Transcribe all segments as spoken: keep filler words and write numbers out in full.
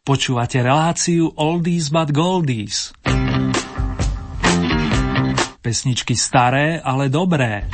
Počúvate reláciu Oldies but Goldies. Pesničky staré, ale dobré.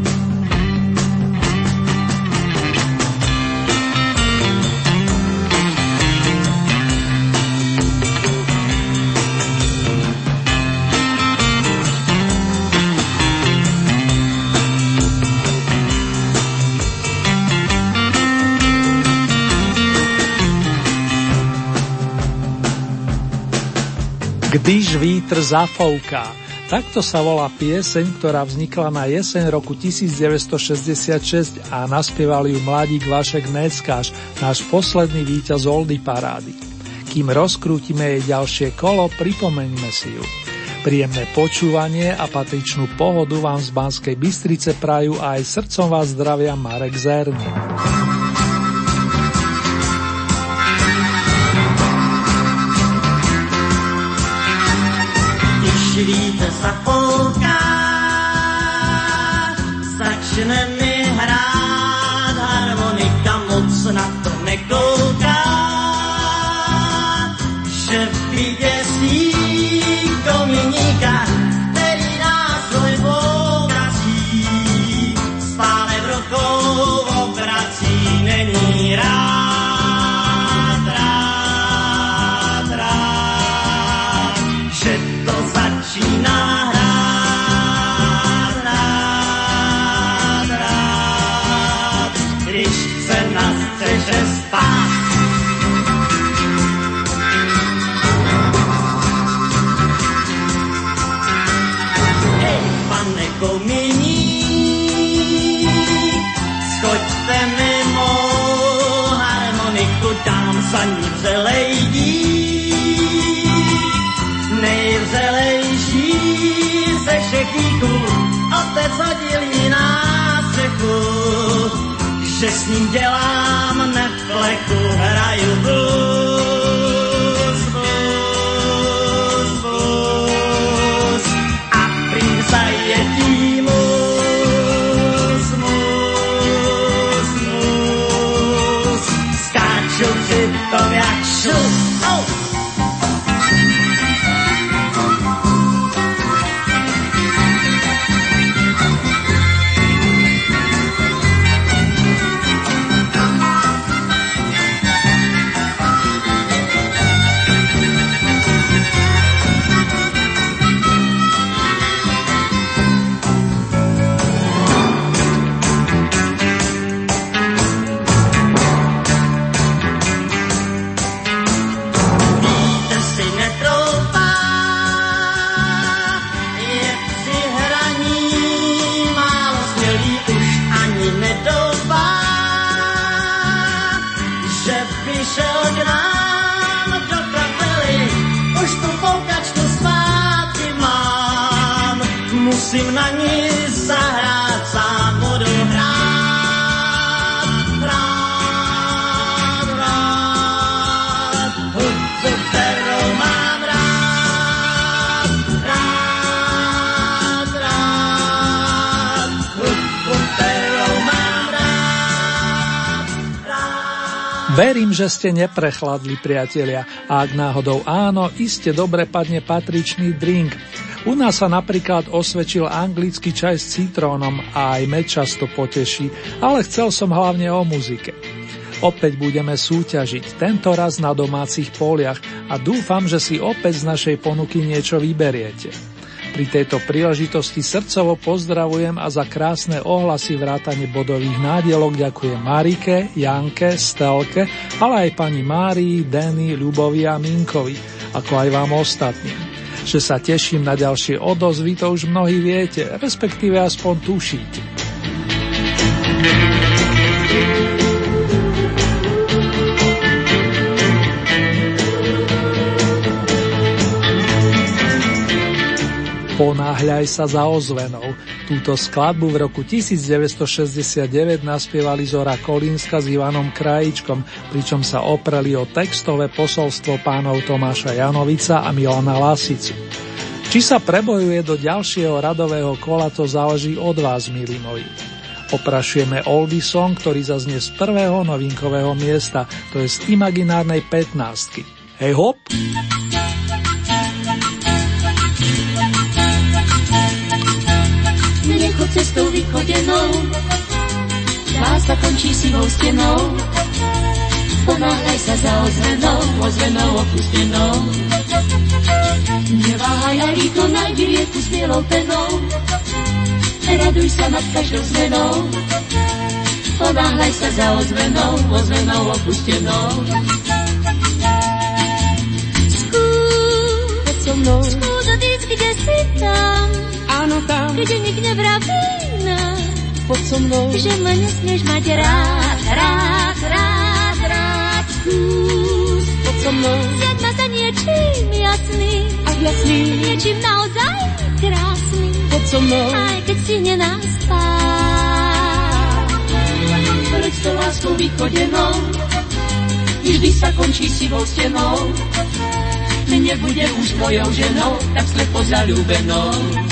Když vítr zafouká. Takto sa volá pieseň, ktorá vznikla na jeseň roku devätnásťstošesťdesiatšesť a naspieval ju mladík Vašek Neckáš, náš posledný víťaz Oldie parády. Kým rozkrútime jej ďalšie kolo, pripomeňme si ju. Príjemné počúvanie a patričnú pohodu vám z Banskej Bystrice prajú aj srdcom vás zdravia Marek Zerný. Vítr zafouká, začne mi hrát harmonika, moc na to nekouká, že vyděsí kominíka, který nástroj povrací, stále v rukou obrací, není rád, rád, rád, že to začíná hrát, rád, rád, když se na střeše spát. Hej, pane kominík, schoďte mimo harmoniku, dám za ní vřelej dík, nejvřelejší ze všech díků, otec hodil jí na střechu, že s ním dělám neflechu, hraju blues, blues, blues a prý zajetí mus, mus, mus, skáču přitom jak šus, oh! Musím na ní zahrát, sám budu hrát, hrát, hrát, hudbu, kterou mám rád, rád, rád, hudbu, kterou mám rád, rád. Verím, že ste neprechladli, priatelia, a ak náhodou áno, iste dobre padne patričný drink. U nás sa napríklad osvedčil anglický čaj s citrónom a aj med často poteší, ale chcel som hlavne o muzike. Opäť budeme súťažiť, tento raz na domácich poliach a dúfam, že si opäť z našej ponuky niečo vyberiete. Pri tejto príležitosti srdcovo pozdravujem a za krásne ohlasy vrátane bodových nádielok ďakujem Marike, Janke, Stelke, ale aj pani Márii, Denny, Ľubovi a Minkovi, ako aj vám ostatným. Že sa teším na ďalšie odozvy, to už mnohí viete, respektíve aspoň tušíte. Ponáhľaj sa za ozvenou. Túto skladbu v roku devätnásťstošesťdesiatdeväť naspievali Zora Kolínska s Ivanom Krajíčkom, pričom sa opreli o textové posolstvo pánov Tomáša Janovica a Milana Lasicu. Či sa prebojuje do ďalšieho radového kola, to záleží od vás, milí moji. Oprašujeme oldie song, ktorý zaznie z prvého novinkového miesta, to je z imaginárnej pätnástky. Hej hop! Nechod cestou vychodenou, láska končí sivou stenou. Ponáhľaj sa za ozvenou, ozvenou opustenou. Neváhaj a rýchlo nájdi rieku s bielou penou. Raduj sa nad každou zmenou. Ponáhľaj sa za ozvenou, ozvenou opustenou. Skús, poď so mnou, skús odísť, kde si tam. Áno, tam, kde nik nevraví nám. Poď so mnou, že ma nesmieš mať rád, rád, rád, rád. Skús, poď so mnou, zjaď ma za niečím jasným a jasným, niečím naozaj krásnym. Poď so mnou, aj keď si nenám spát. Pred tou láskou vychodenou vždy sa končí sivou stenou. Nebude už mojou ženou, tak slepo zaľúbenou.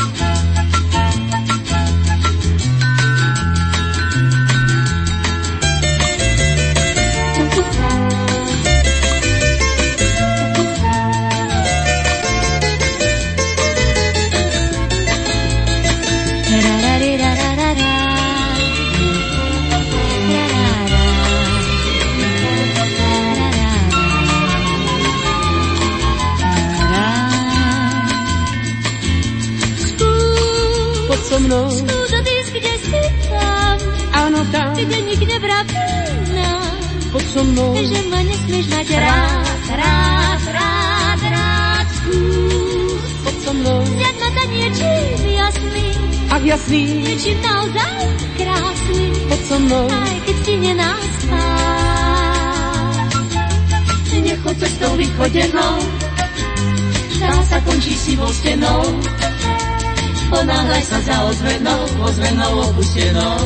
Skús odísť, kde si tam. Áno, tam, kde nik nevraví nám. Poď so mnou, že ma nesmieš mať rád, rád, rád, rád. Skús, poď so mnou, zjaď ma za niečím jasným a jasným, niečím naozaj krásnym. Poď so mnou, aj keď si nenám spát. Nechod cestou vychodenou, tá sa končí sivou stenou. Ponáhľaj sa za ozvenou, ozvenou opustenou.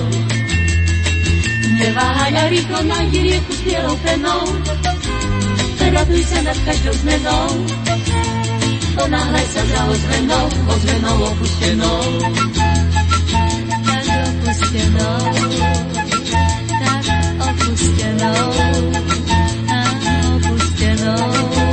Neváhaj a rýchlo nájdi rieku s bielou penou. Raduj sa nad každou zmenou. Ponáhľaj sa za ozvenou, ozvenou opustenou. Tak opustenou, tak opustenou, tak opustenou.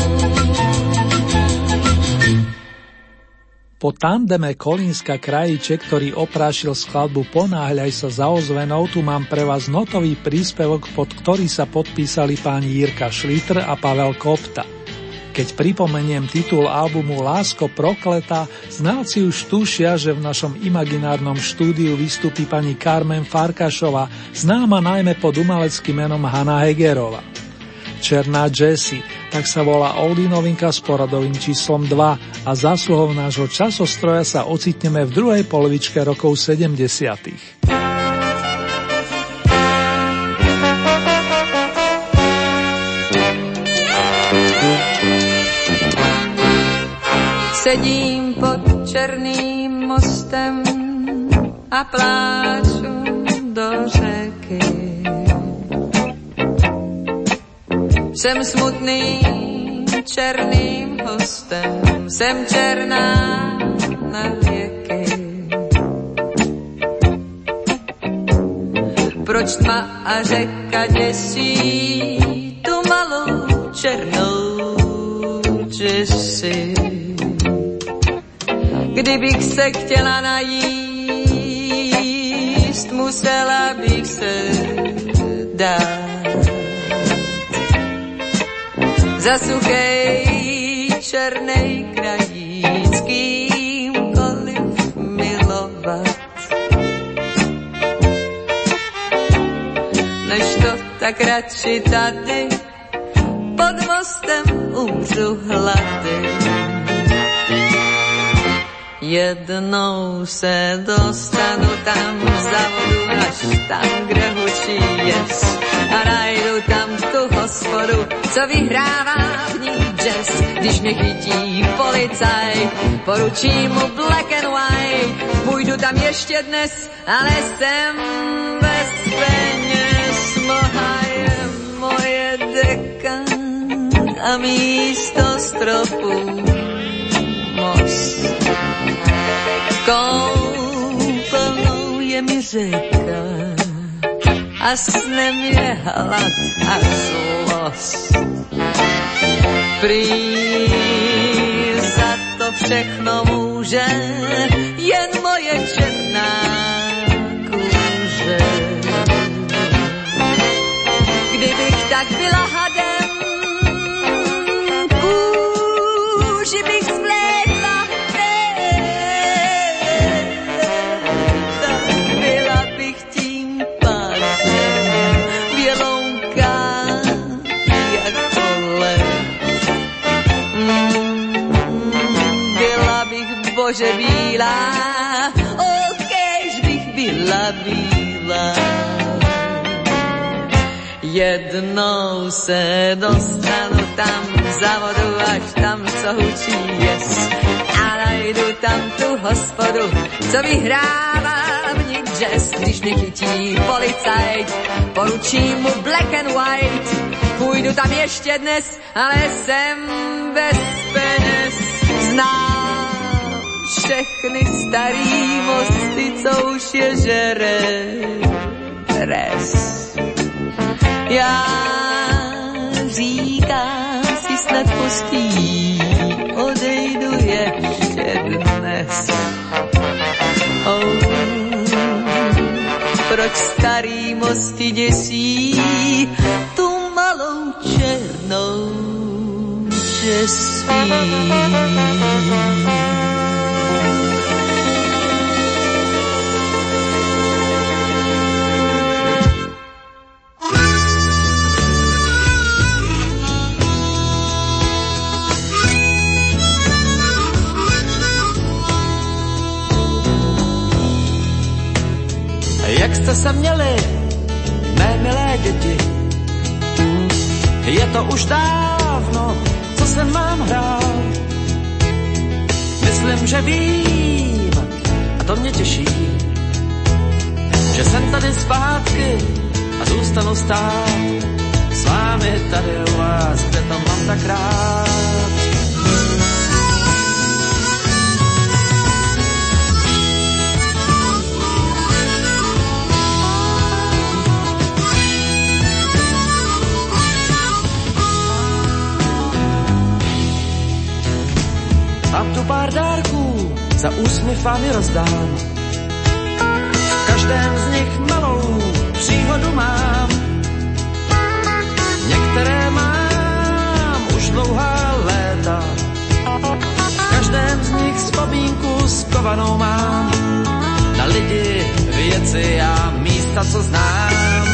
Po tandeme Kolínska Krajíček, ktorý oprášil skladbu Ponáhľaj sa za ozvenou, tu mám pre vás notový príspevok, pod ktorý sa podpísali páni Jirka Šliter a Pavel Kopta. Keď pripomeniem titul albumu Lásko prokletá, znalci už tušia, že v našom imaginárnom štúdiu vystúpi pani Carmen Farkašová, známa najmä pod umeleckým menom Hanna Hegerova. Černá Jessie, tak sa volá oldie novinka s poradovým číslom dva a zásluhou nášho časostroja sa ocitneme v druhej polovičke rokov sedemdesiatych. Sedím pod černým mostem a pláču do řeky. Jsem smutným černým hostem, jsem černá na věky. Proč tma a řeka děsí tu malou černou Jessie? Kdybych se chtěla najíst, musela bych se dát. Za suchej černej krajíc kýmkoliv milovat. Než to tak radši tady pod mostem umřu hlady. Jednou se dostanu tam za vodu, až tam, kde hučí jes. A najdu tam tu hospodu, co vyhrává v ní jazz. Když mě chytí policaj, poručím mu black and white. Půjdu tam ještě dnes, ale jsem bez peněz. Mlha je moje deka a místo stropu most. Koupelnou je mi řeka a snem je hlad a zlost. Prý za to všechno může jen moje černá kůže. Kdybych tak byla hadem, kůži bych zvlédla, tak byla bych tím pádem bělounka jako lev. Byla bych bože bílá, okejž bych byla bílá. Jednou se dostanu tam za vodu, až tam, co hučí jes. A najdu tam tu hospodu, co vyhrává v ní jazz. Když mě chytí policajt, poručím mu black and white. Půjdu tam ještě dnes, ale jsem bez peněz. Znám všechny starý mosty, co už je žere res. Já říkám si snad postí, odejdu ještě dnes. Oh, proč starý mosty děsí tu malou černou, že spí. Jak jste se měli, mé milé děti? Je to už dávno, co jsem vám hrál. Myslím, že vím, a to mě těší, že jsem tady zpátky a zůstanu stát s vámi tady u vás, kde to mám tak rád. Mám tu pár dárků, za úsměv vám je rozdám. V každém z nich malou příhodu mám. Některé mám už dlouhá léta. V každém z nich vzpomínku skovanou mám. Na lidi, věci a místa, co znám.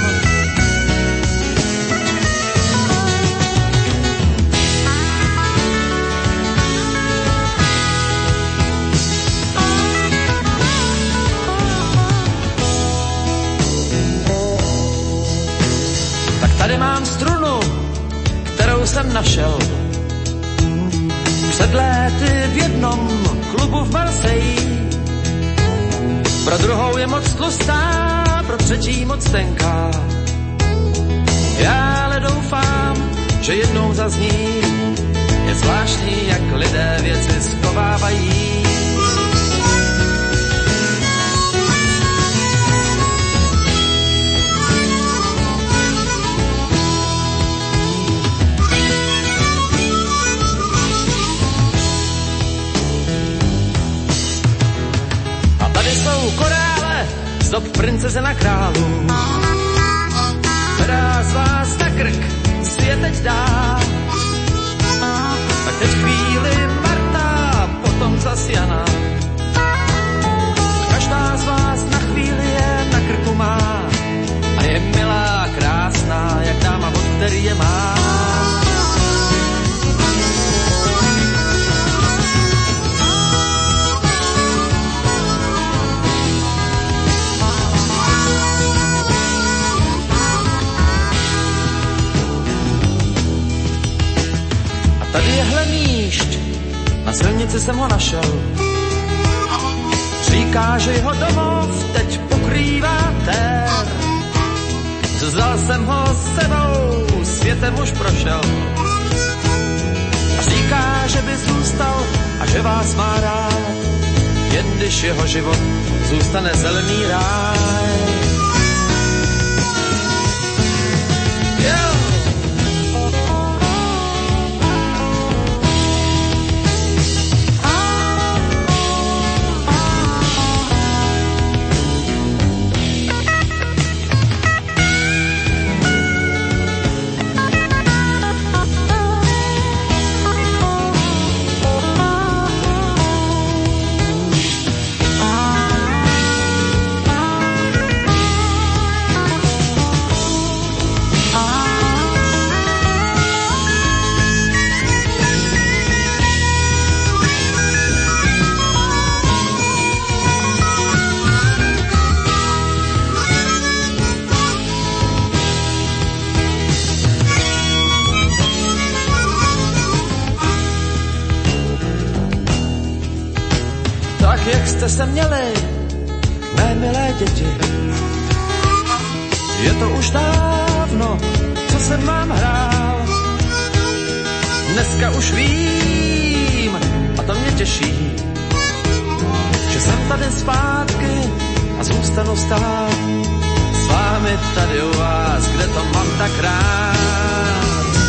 Tady mám strunu, kterou jsem našel před léty v jednom klubu v Marseille. Pro druhou je moc tlustá, pro třetí moc tenká. Já ale doufám, že jednou zazní. Je zvláštní, jak lidé věci schovávají. Korále z dob princeze na králu, která z vás na krk si je teď dá. Tak teď chvíli Marta, potom zas Jana. Každá z vás na chvíli je na krku má a je milá, krásná, jak dáma, od který je má. Tady je hlemíšť, na silnici jsem ho našel. Říká, že jeho domov teď pokrývá tér. Vzal jsem ho s sebou, světem už prošel. A říká, že by zůstal a že vás má rád, jen když jeho život zůstane zelený ráj. jak jste se měli, mé milé děti. Je to už dávno, co jsem vám hrál. Dneska už vím, a to mě těší, že jsem tady zpátky a zůstanu stát s vámi tady u vás, kde to mám tak rád.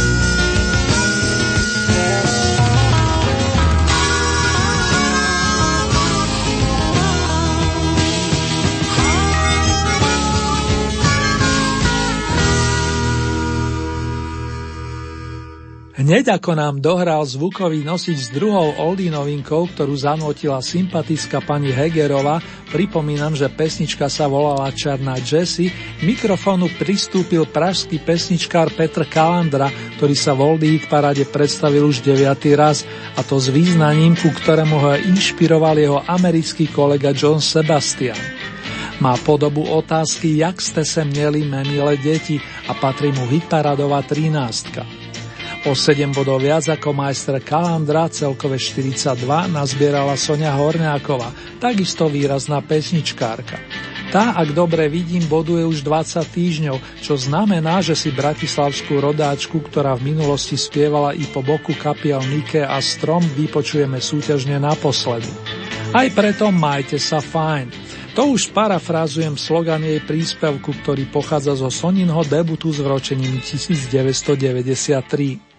Hneď ako nám dohral zvukový nosič s druhou oldie novinkou, ktorú zanotila sympatická pani Hegerova, pripomínam, že pesnička sa volala Černá Jessie, k mikrofónu pristúpil pražský pesničkár Petr Kalandra, ktorý sa v Oldie Hit Parade predstavil už deviaty raz, a to s význaním, ku ktorému ho inšpiroval jeho americký kolega John Sebastian. Má podobu otázky, jak ste se měli, mé milé deti, a patrí mu hitparadová trinástka. O sedem bodov viac ako majster Kalandra, celkové štyridsaťdva, nazbierala Soňa Horňáková, takisto výrazná pesničkárka. Tá, ak dobre vidím, boduje už dvadsať týždňov, čo znamená, že si bratislavskú rodáčku, ktorá v minulosti spievala i po boku kapiel Nike a Strom, vypočujeme súťažne naposledy. Aj preto majte sa fajn. To už parafrázujem slogan jej príspevku, ktorý pochádza zo Soninho debutu s vročením devätnásťstodeväťdesiattri.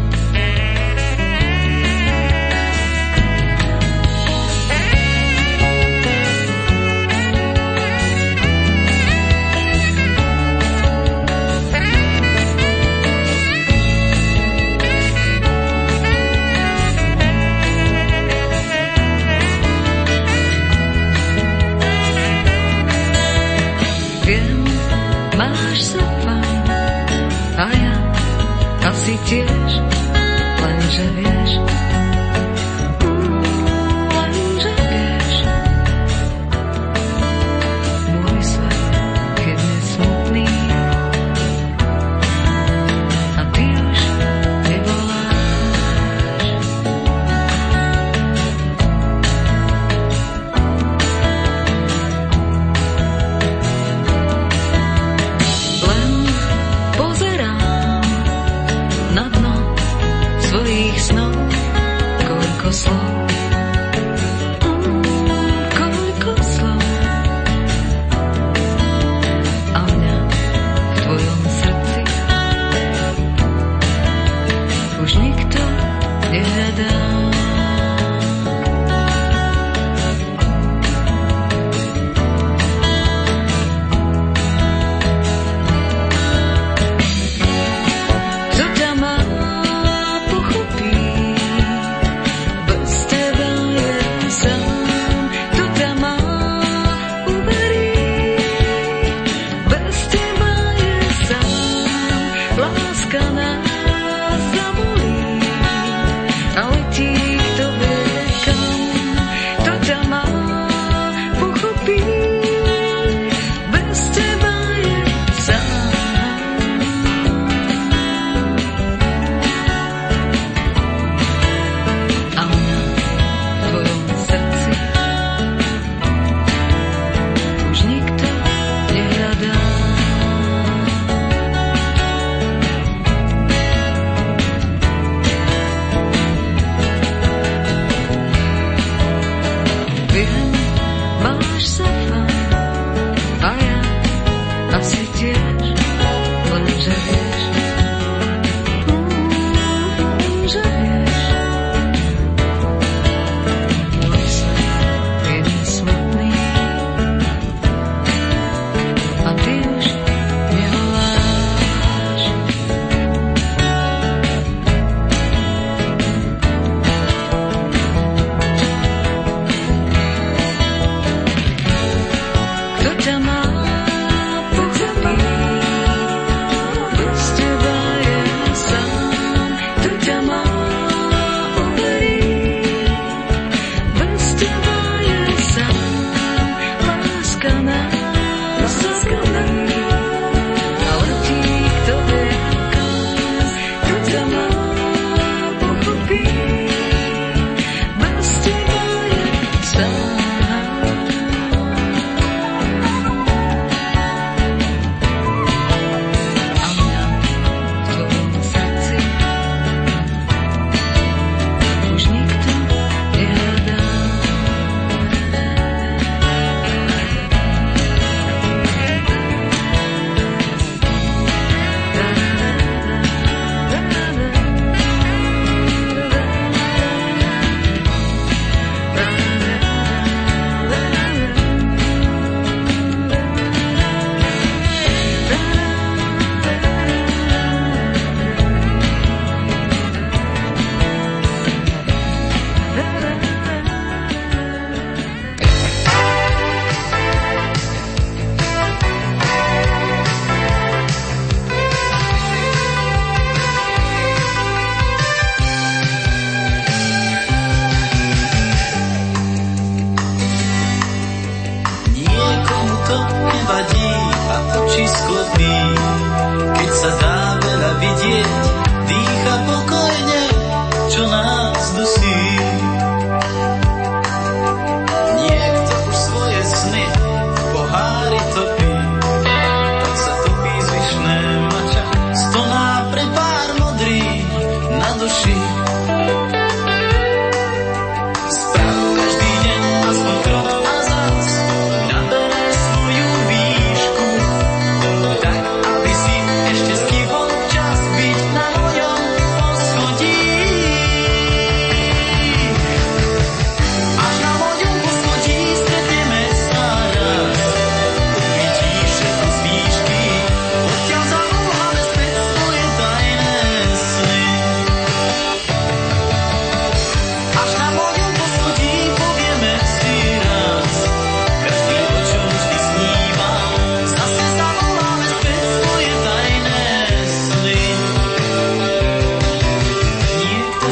Tiež, lenže vieš, lenže vieš, môj svet, keď je smutný a ty už nevoláš. Len pozerám na dno svojich snov, koľko slov, mm, koľko slov, a mňa v tvojom srdci už nikto nehľadá. Bez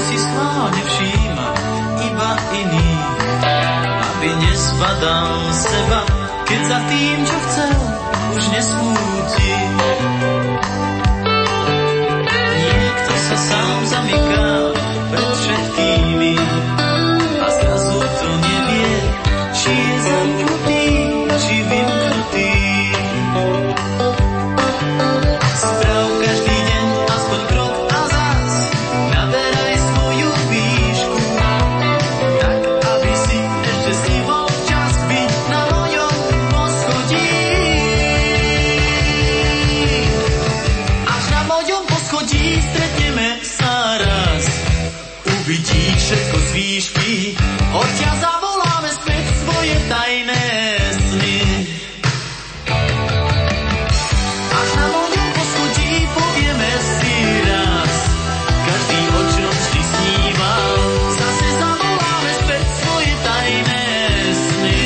si schválne všíma iba iný, aby nezbadal seba, keď za tým, čo chcel, už nesmúti. Niekto sa sám zamyká pred všetkými a zrazu to nevie, či je zamknutý, či vymknutý. Sprav každý deň aspoň krok a zás naberaj svoju výšku, tak aby si ešte stihol čas byť na mojom poschodí. Až na mojom poschodí stretneme sa raz, uvidíš všetko z výšky, odtiaľ zavoláme späť svoje tajné sny. Až na mojom poschodí povieme si raz, každý o čom vždy sníval, zase zavoláme späť svoje tajné sny.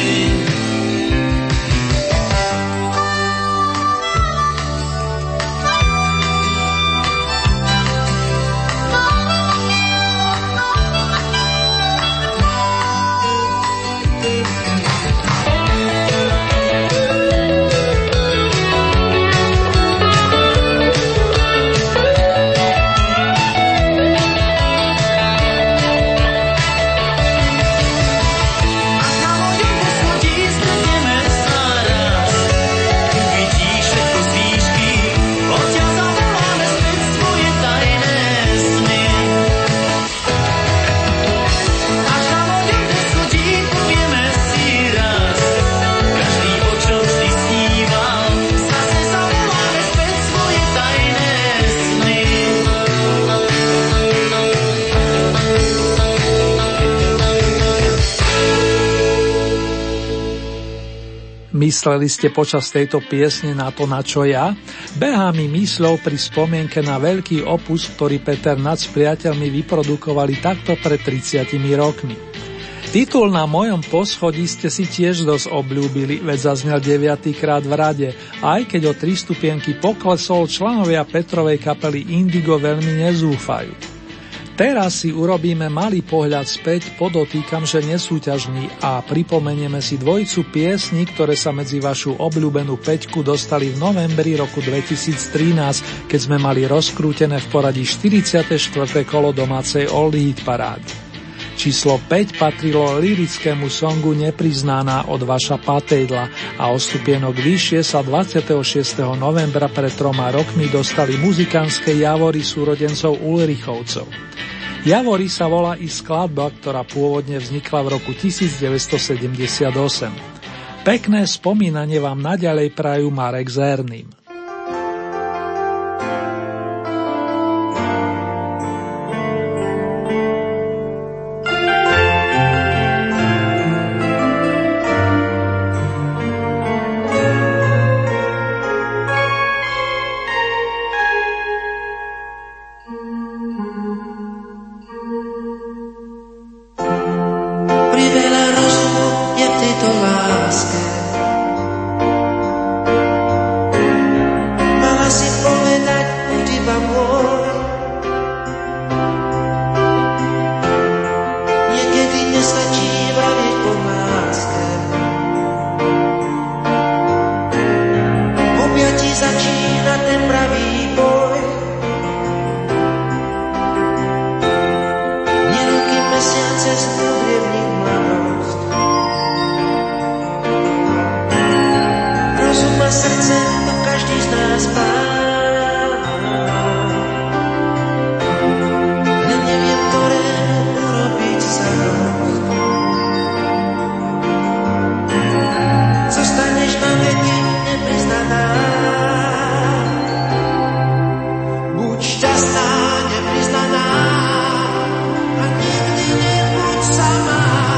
Mysleli ste počas tejto piesne na to, na čo ja? Behá mi mysľou pri spomienke na veľký opus, ktorý Peter Nať s priateľmi vyprodukovali takto pred tridsiatimi rokmi. Titul Na mojom poschodí ste si tiež dosť obľúbili, veď zaznel deviatykrát v rade, aj keď o tri stupienky poklesol, členovia Petrovej kapely Indigo veľmi nezúfajú. Teraz si urobíme malý pohľad späť, podotýkam, že nesúťažný, a pripomenieme si dvojicu piesní, ktoré sa medzi vašu obľúbenú päťku dostali v novembri roku dvetisíctrinásť, keď sme mali rozkrútené v poradí štyridsiate štvrté kolo domácej Old Hit parády. Číslo päť patrilo lyrickému songu Nepriznaná od Vaša Patejdla a o stupienok vyššie sa dvadsiateho šiesteho novembra pred troma rokmi dostali muzikánske Javory súrodencov Ulrichovcov. Javory sa volá i skladba, ktorá pôvodne vznikla v roku devätnásťsedemdesiatosem. Pekné spomínanie vám naďalej prajú Marek s Erným.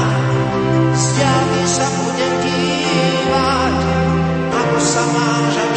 Sama, že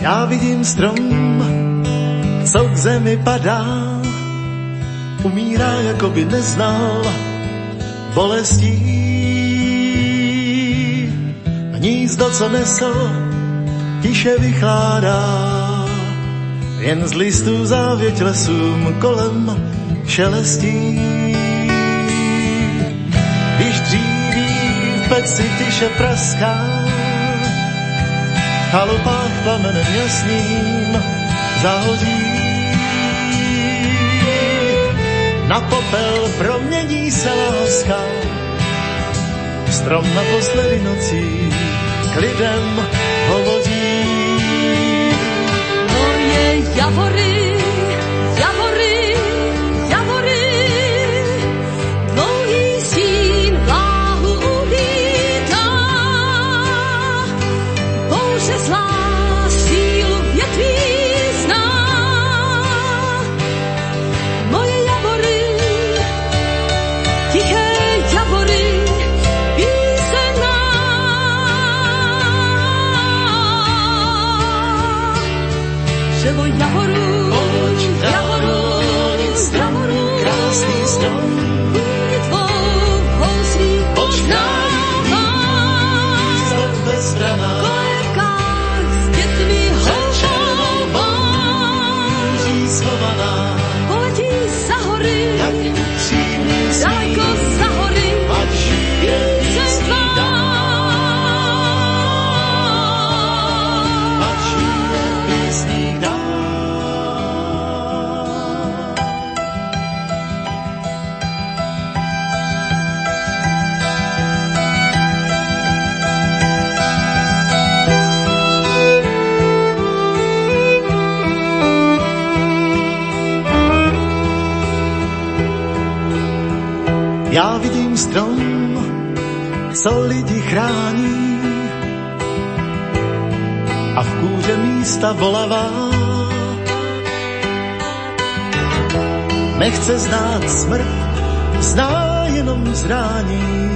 Já vidím strom, co k zemi padá, umírá, jako by neznal bolestí. Hnízdo, co nesl, tiše vychládá, jen z listů závěť lesům kolem šelestí. Když dříví v peci tiše praská, v chalupách plamenem jasným zahoří. Na popel promění se láska, strom naposledy nocí k lidem hovoří. Moje javory, javory, javory, dlouhý stín vláhu uvítá. Bouře zlá sílu větví zná. Moje javory, tiché javory, Ževo javoru, javoru, javoru, krásný strom, vůni tvou housí poznává. Kolébkách s dětmi houvá, poletí za hory, daleko za hory, píseň tvá. Já vidím strom, co lidi chrání, a v kůře místa bolavá. Nechce znát smrt, zná jenom zrání,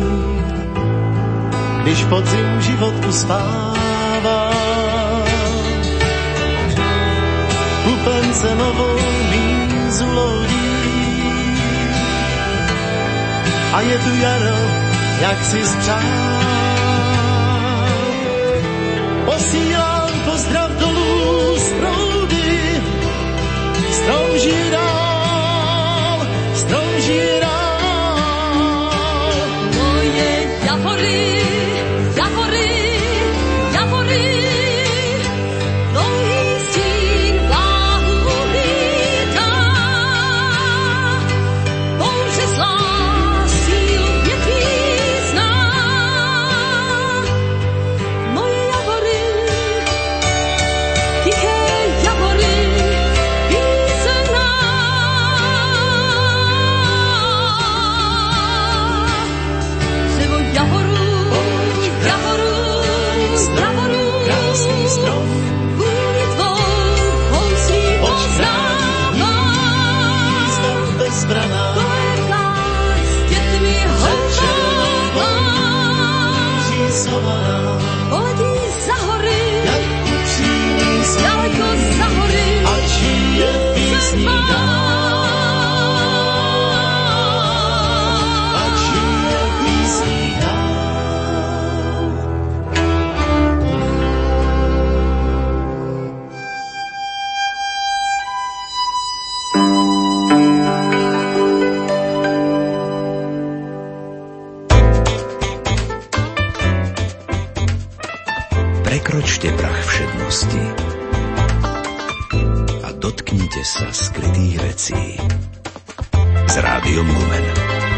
když podzim život uspává. Kupence novou mízu lodí, a je tu jaro, jak si spřál. Posílám pozdrav dolů z proudy, strom žije dál, strom žije dál. Moje javory, javory, javory, dlouhý stín vláhu uvítá. Bouře zlá Prekročte prach všednosti a dotknite sa skrytých vecí s Rádiom Lumen.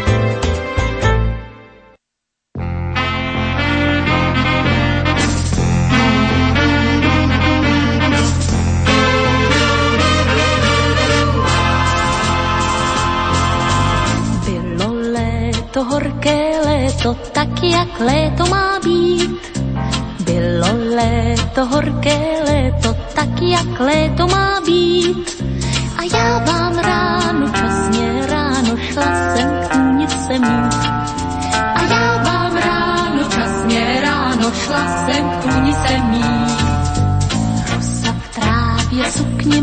Bylo léto, horké léto, tak jak léto má být. Bylo léto, horké léto, tak jak léto má být. A já vám ráno, časně ráno, šla jsem k tůnice mít. A já vám ráno, časně ráno, šla jsem k tůnice mít.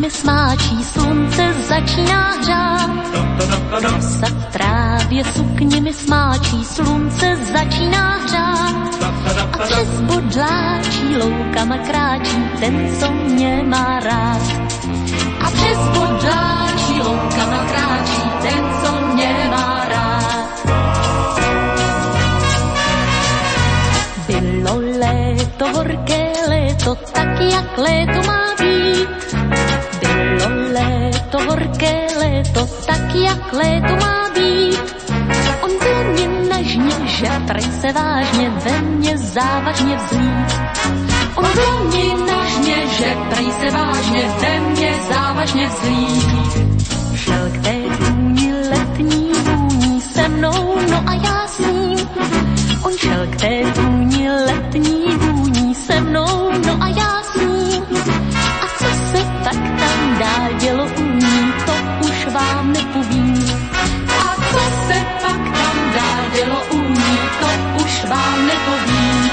mi smáčí, slunce začíná hřát. Rosa v trávě sukně mi smáčí, slunce začíná hřát. A přes bodláčí loukama kráčí ten, co mě má rád. A přes bodláčí loukama kráčí ten, co mě má rád. Bylo léto, horké léto, tak jak léto má být. Bylo léto, horké léto, tak jak léto má být. On byl mě nažně, že prej se vážně, ve mně závažně vzlít. On byl mě nažně, že prej se vážně, ve mně závažně vzlít. Šel k té tůni letní vůní se mnou, no a já s ním. On šel k té tůni letní vůní se mnou, no a já s ním. A co se tak tam dál dělo u ní, to už vám nepovím. A co se pak tam dál dělo u ní, to už vám nepovím.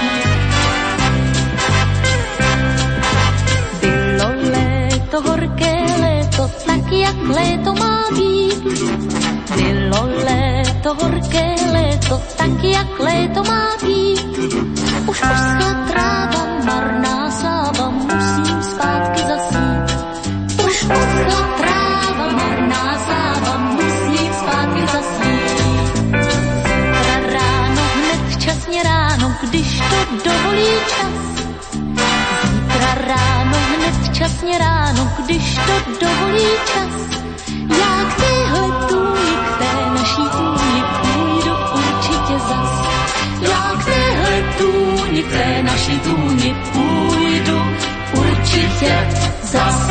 Bylo léto, horké léto, tak jak léto má být. Bylo léto, horké léto, tak jak léto má být. Už poschla tráva, marná sláva, musím zpátky zasít. Už poschla tráva, marná sláva, musím zpátky zasít. Zítra ráno, hned včasně ráno, když to dovolí čas. Zítra ráno, hned včasně ráno, když to dovolí čas. Já k téhle tůni, k té naší tůni půjdu určitě zas. Já k téhle tůni, k té naší tůni půjdu určitě zas.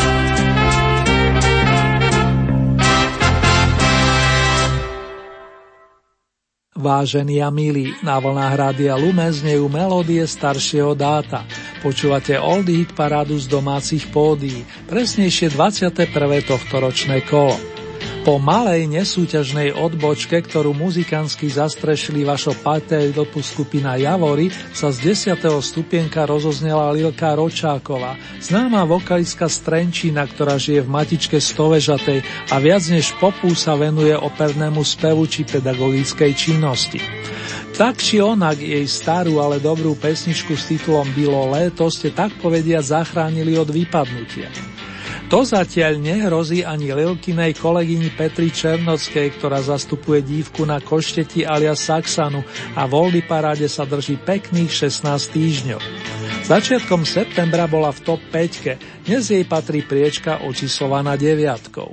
Vážení a milí, na vlnách Rádia Lumen znejú melódie staršieho dáta. Počúvate Oldie Hit parádu z domácich pódií, presnejšie dvadsiate prvé tohtoročné kolo. Po malej nesúťažnej odbočke, ktorú muzikantsky zastrešili vašo patriotopus skupina Javory, sa z desiateho stupienka rozoznela Lilka Ročáková, známa vokalistka z Trenčína, ktorá žije v matičke Stovežatej a viac než popu sa venuje opernému spevu či pedagogickej činnosti. Tak či onak jej starú, ale dobrú pesničku s titulom Bylo léto ste tak povediať zachránili od vypadnutia. To zatiaľ nehrozí ani Lilkinej kolegyni Petri Černockej, ktorá zastupuje dívku na Košteti alias Saxanu a v Oldie paráde sa drží pekných šestnásť týždňov. Začiatkom septembra bola v top päťke, dnes jej patrí priečka očíslovaná deviatkou.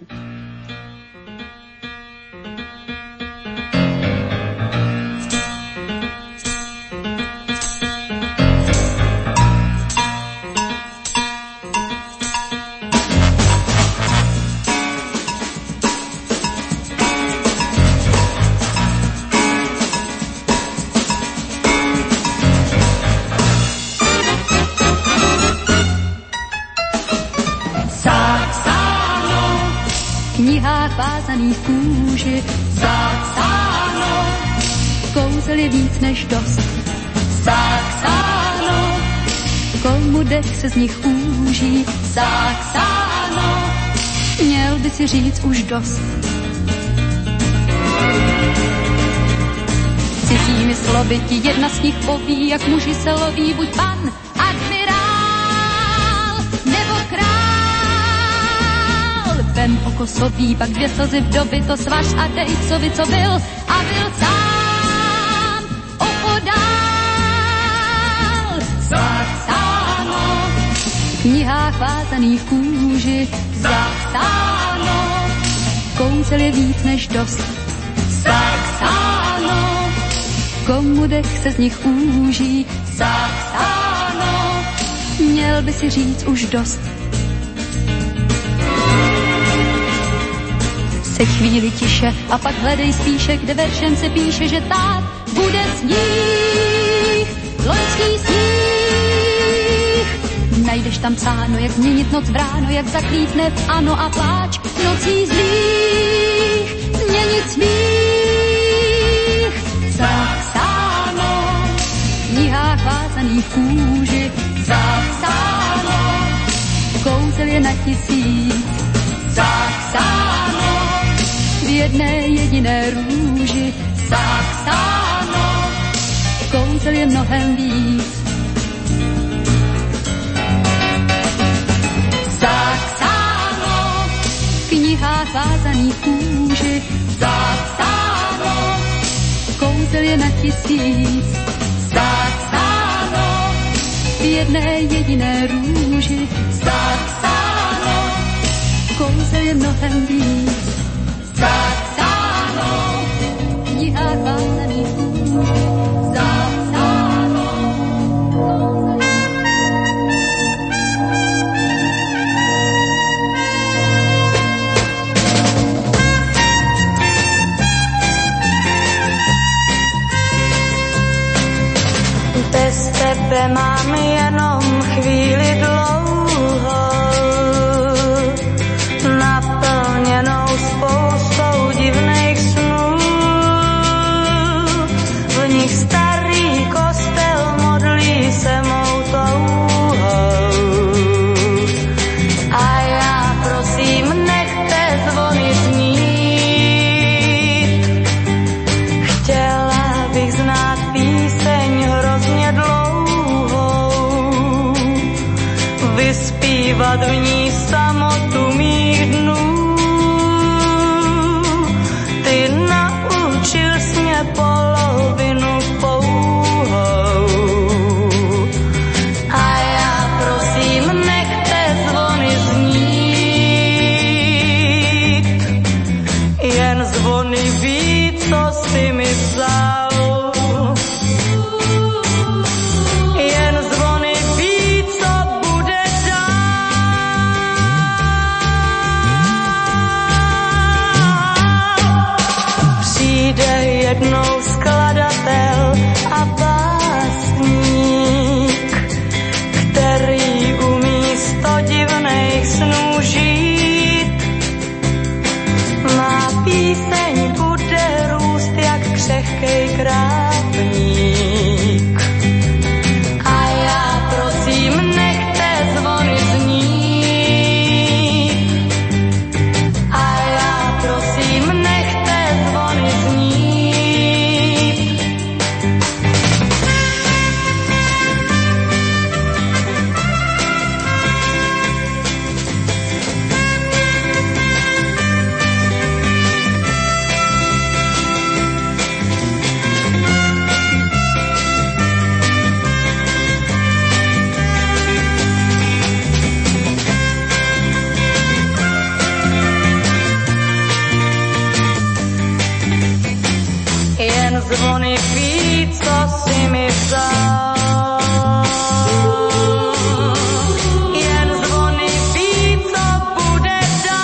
vázaných kůži. Zapsáno, kouzel je víc než dost. Zapsáno, komu dech se z nich úží. Zapsáno, měl by si říct už dost. Cizími slovy ti jedna z nich poví, jak muži se loví, buď pan, admirál nebo král. Vem oko sobí, pak dvě slzy vdovy, to svaž a dej covi, co byl a byl sám opodál. Zapsáno, v knihách vázaných kůži. Zapsáno, kouzel je víc než dost. Zapsáno, komu dech se z nich úží. Zapsáno, měl by si říct už dost. Se chvíli tiše a pak hledej spíše, kde veršem se píše, že tak bude sníh, loňský sníh. Najdeš tam psáno, jak změnit noc v ráno, jak zaklítne v ano a pláč nocí zlých, změnit smích. Zapsáno, v knihách vázaných kůži. Zapsáno, kouzel je na tisíc. jedné jediné růži. Saxáno, kouzel je mnohem víc. Saxáno, v knihách vázaných kůži. Saxáno, kouzel je na tisíc. Saxáno, v jedné jediné růži. Saxáno, kouzel je mnohem víc. Saxáno, v knihách vázaných kůži. Saxáno, bez tebe mám jenom chvíli dlouhou, naplněnou spoustou divných snů. V nich starý kostel modlí se mou touhou. A já prosím, nechte zvony znít. Chtěla bych znát píseň hrozně dlouhou, vyspívat v ní samotu mých dnů. Ty naučil jsi mě polovinu pouhou. A já prosím, nechte zvony znít. Jen zvony ví, co jsi mi vzal. Jen zvony ví, co bude dál. Přijde jednou skladatel a básník, který umí sto divných snů žít. Má píseň bude růst jak křehkej krávník. A já prosím, nechte zvony znít. A já prosím, nechte zvony znít. Jen zvony ví, co si mi vzal. Jen zvony ví, co bude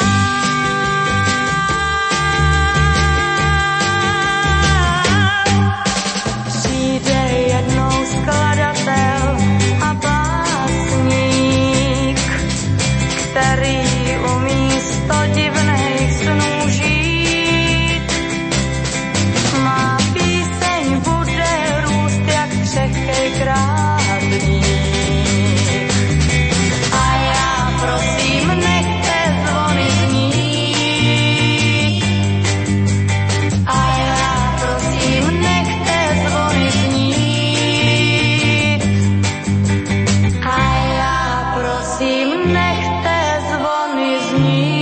dál. Přijde jednou skladatel a básník, který umí sto divných snů žít. Má píseň bude růst jak křehkej krávník. A já prosím, nechte zvony znít. A já prosím, nechte zvony znít. A já prosím, nechte zvony znít.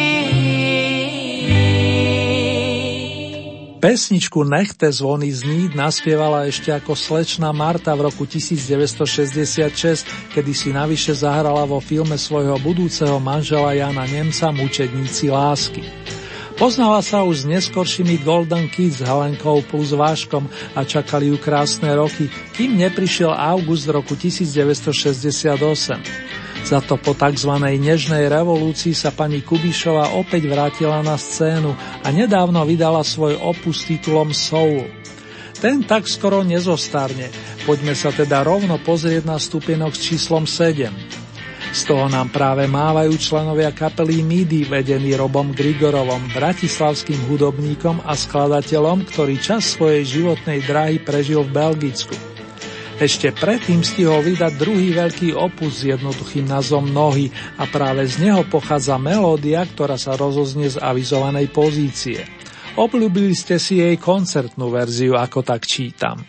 Pesničku Nechte zvony znít naspievala ešte ako slečna Marta v roku devätnásťstošesťdesiatšesť, kedy si navyše zahrala vo filme svojho budúceho manžela Jana Nemca Mučedníci lásky. Poznala sa už s neskoršími Golden Kids Helenkou plus Váškom a čakali ju krásne roky, kým neprišiel august roku devätnásťstošesťdesiatosem. Za to po tzv. Nežnej revolúcii sa pani Kubišová opäť vrátila na scénu a nedávno vydala svoj opus s titulom Soul. Ten tak skoro nezostarne, poďme sa teda rovno pozrieť na stupienok s číslom sedem. Z toho nám práve mávajú členovia kapely Midi, vedení Robom Grigorovom, bratislavským hudobníkom a skladateľom, ktorý čas svojej životnej dráhy prežil v Belgicku. Ešte predtým stihol vydať druhý veľký opus s jednoduchým názvom Nohy a práve z neho pochádza melódia, ktorá sa rozoznie z avizovanej pozície. Obľúbili ste si jej koncertnú verziu, ako tak čítam.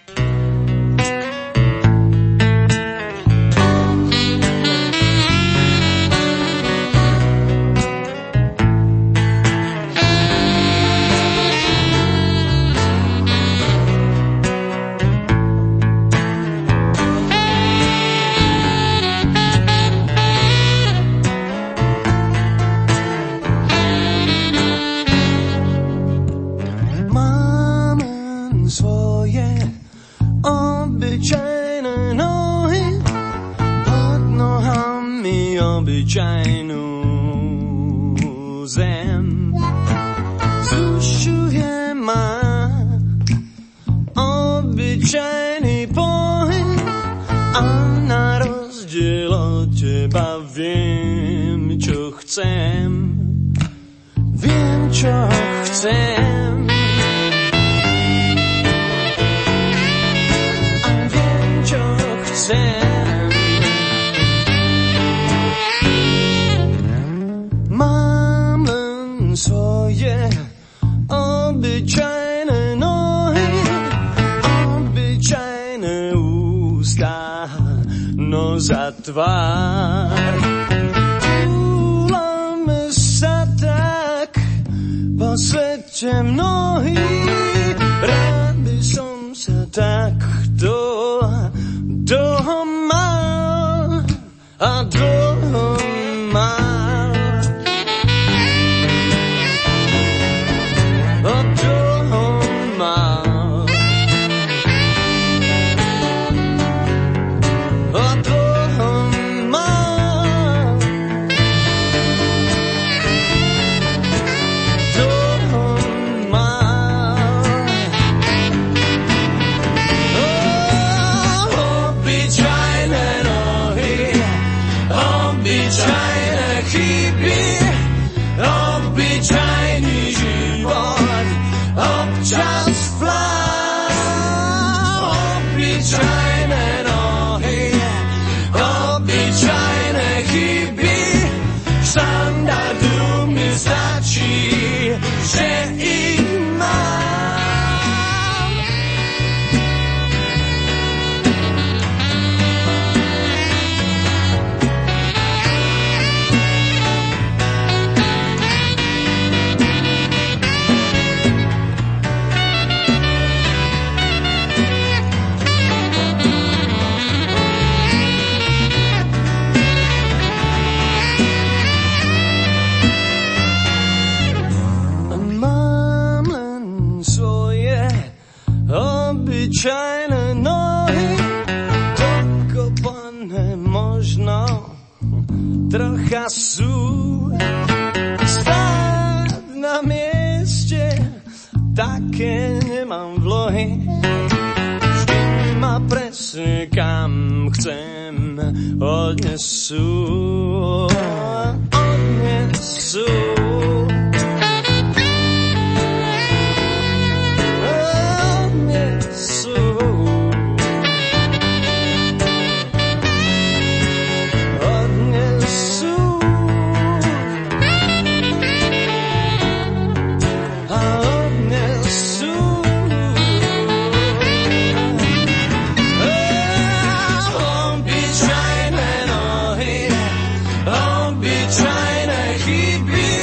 Obyčajné nohy, obyčajné chyby.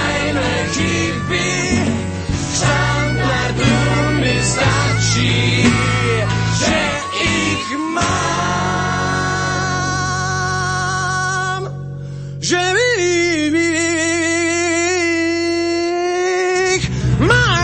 tajné chyby, štandardu mi stačí, že ich mám, že ich mám.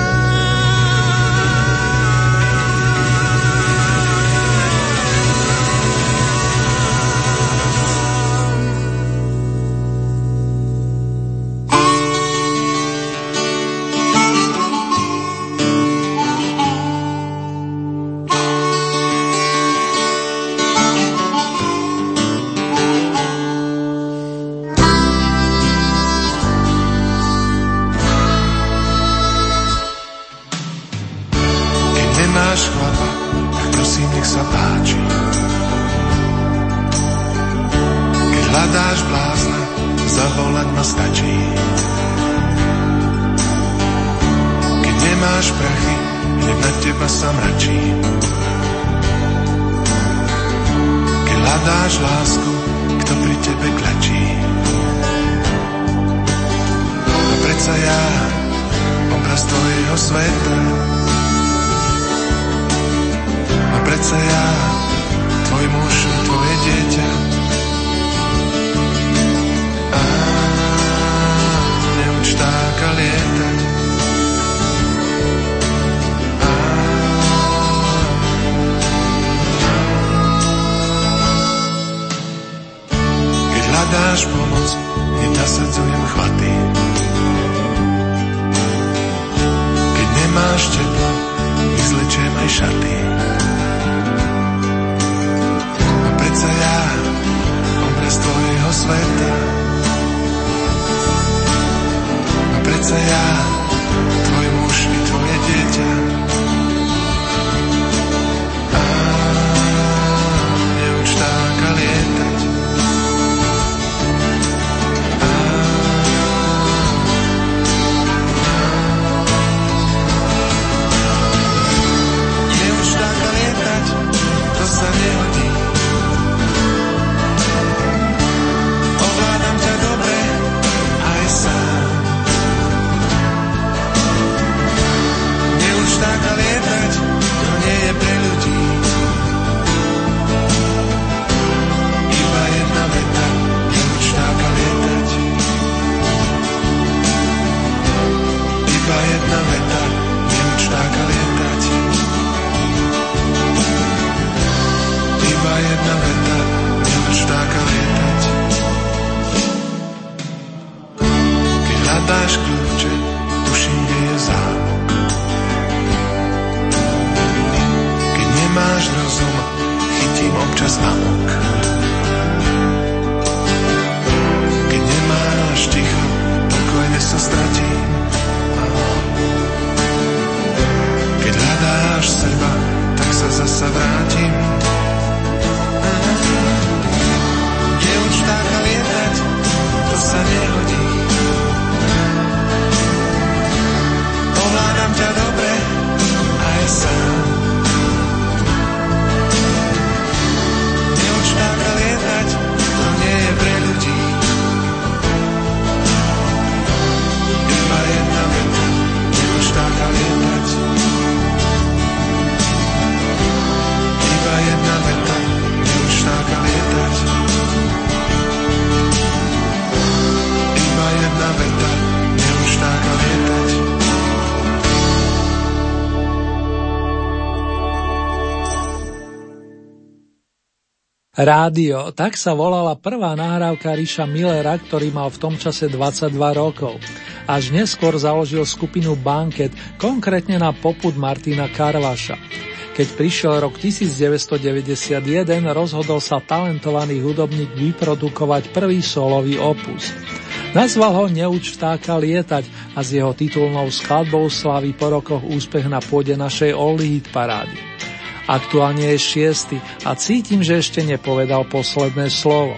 Rádio, tak sa volala prvá nahrávka Riša Millera, ktorý mal v tom čase dvadsaťdva rokov. Až neskôr založil skupinu Banket, konkrétne na popud Martina Karvaša. Keď prišiel rok devätnásťstodeväťdesiatjeden, rozhodol sa talentovaný hudobník vyprodukovať prvý solový opus. Nazval ho Neuč vtáka lietať a s jeho titulnou skladbou slaví po rokoch úspech na pôde našej Oldy Hit parády. Aktuálne je šiesty a cítim, že ešte nepovedal posledné slovo.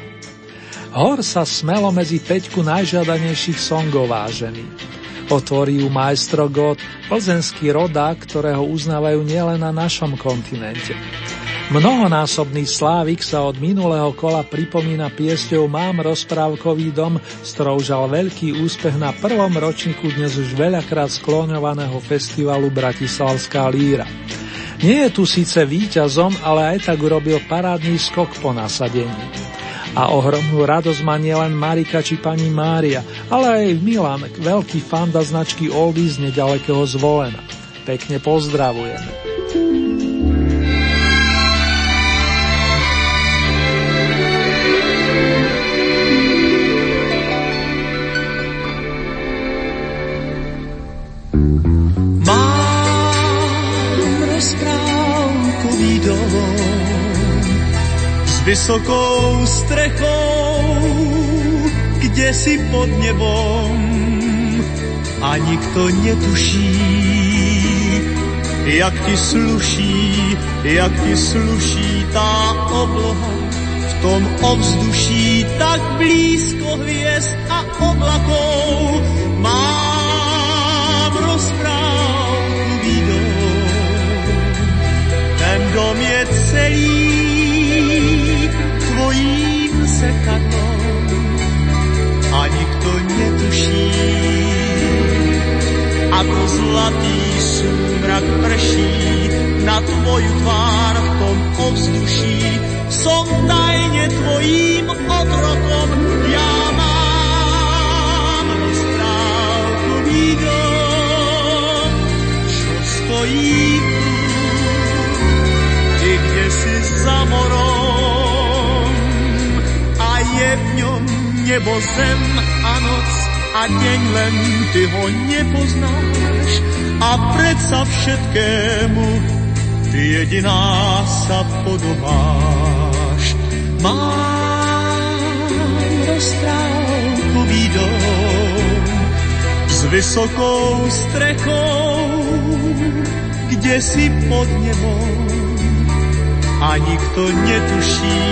Hor sa smelo medzi päťku najžiadanejších songov vážený. Otvorí ju Maestro God, plzeňský rodák, ktorého uznávajú nielen na našom kontinente. Mnohonásobný Slávik sa od minulého kola pripomína piesťou Mám rozprávkový dom, s ktorou žal veľký úspech na prvom ročníku dnes už veľakrát skloňovaného festivalu Bratislavská líra. Nie je tu síce víťazom, ale aj tak urobil parádny skok po nasadení. A ohromnú radosť má nielen Marika či pani Mária, ale aj Milan, veľký fanda značky Oldies z nedalekého Zvolena. Pekne pozdravujeme. Vysokou strechou, kde si pod nebom a nikto netuší, jak ti sluší, jak ti sluší tá obloha v tom ovzduší, tak blízko hviezd a oblakov. Mám rozprávkový dom, ten dom je celý tvojím zrkadlom a nikto netuší, ako zlatý súmrak prší na tvoju tvár v tom ovzduší. Som tajne tvojím otrokom, ja mám rozprávkový dom, čo stojí tu, ty kde si za morom, je v ňom nebo, zem a noc a deň, len ty ho nepoznáš a predsa všetkému ty jediná sa podobáš. Mám rozprávkový dom s vysokou strechou, kde si pod nebom a nikto netuší,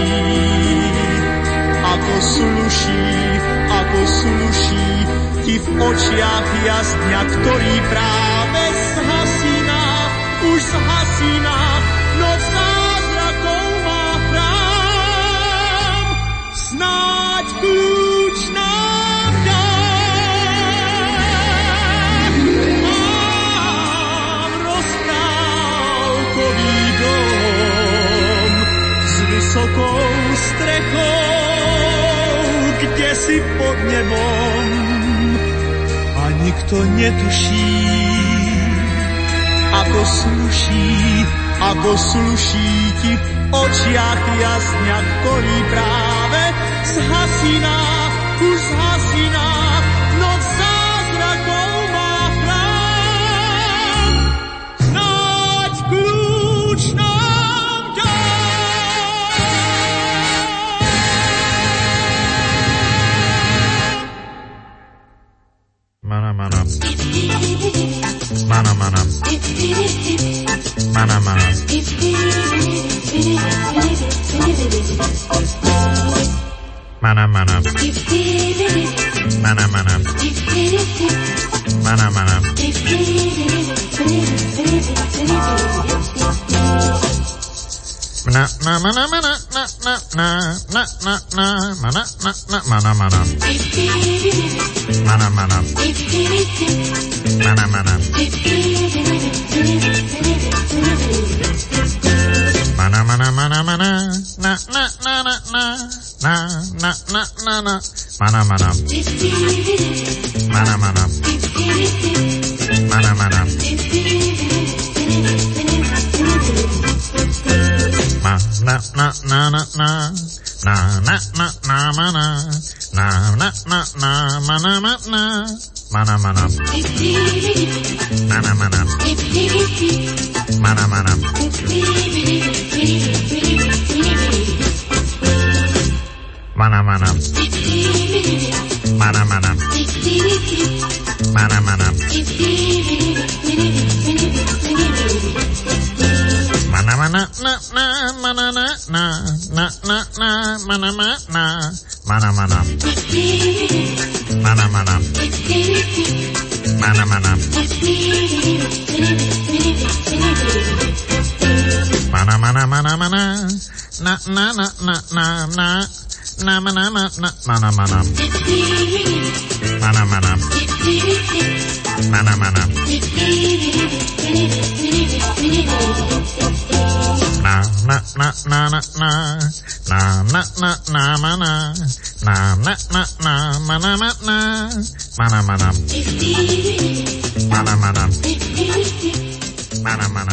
ako sluší, ako sluší ti v očiach jasňa, ktorý práve zhasíná, už zhasíná, noc zázrakov má chrám. Snáď kľúč nám dá. Mám rozprávkový dom s vysokou strechou, kde si pod nebom a nikto netuší, ako sluší, ako sluší ti v očiach jasňa, ktorý práve zhasíná, už zhasíná, noc zázrakov má chrám. Snáď kľúč nám dá. Mana mana Mana mana Mana mana Mana mana Mana mana Mana mana Na na mana mana na na na na na na mana na na mana mana mana mana mana mana mana mana mana mana na na na na na na na na na na mana mana mana mana mana mana Ma na na na na na na na na na mana na na na na mana mana mana mana mana mana mana mana mana mana mana mana mana mana mana mana na na mana na na na na na mana mana mana mana mana mana mana mana Mana, mana, mana, mana. Na, na, na, na, na, na. Na, mana, na, na, mana, mana. Mana, mana. Mana, mana. Na, na, na, na, na, na. Na, na, na, na, mana. Na, na, na, na, mana, mana. Mana, mana. Mana, mana. Mana, mana.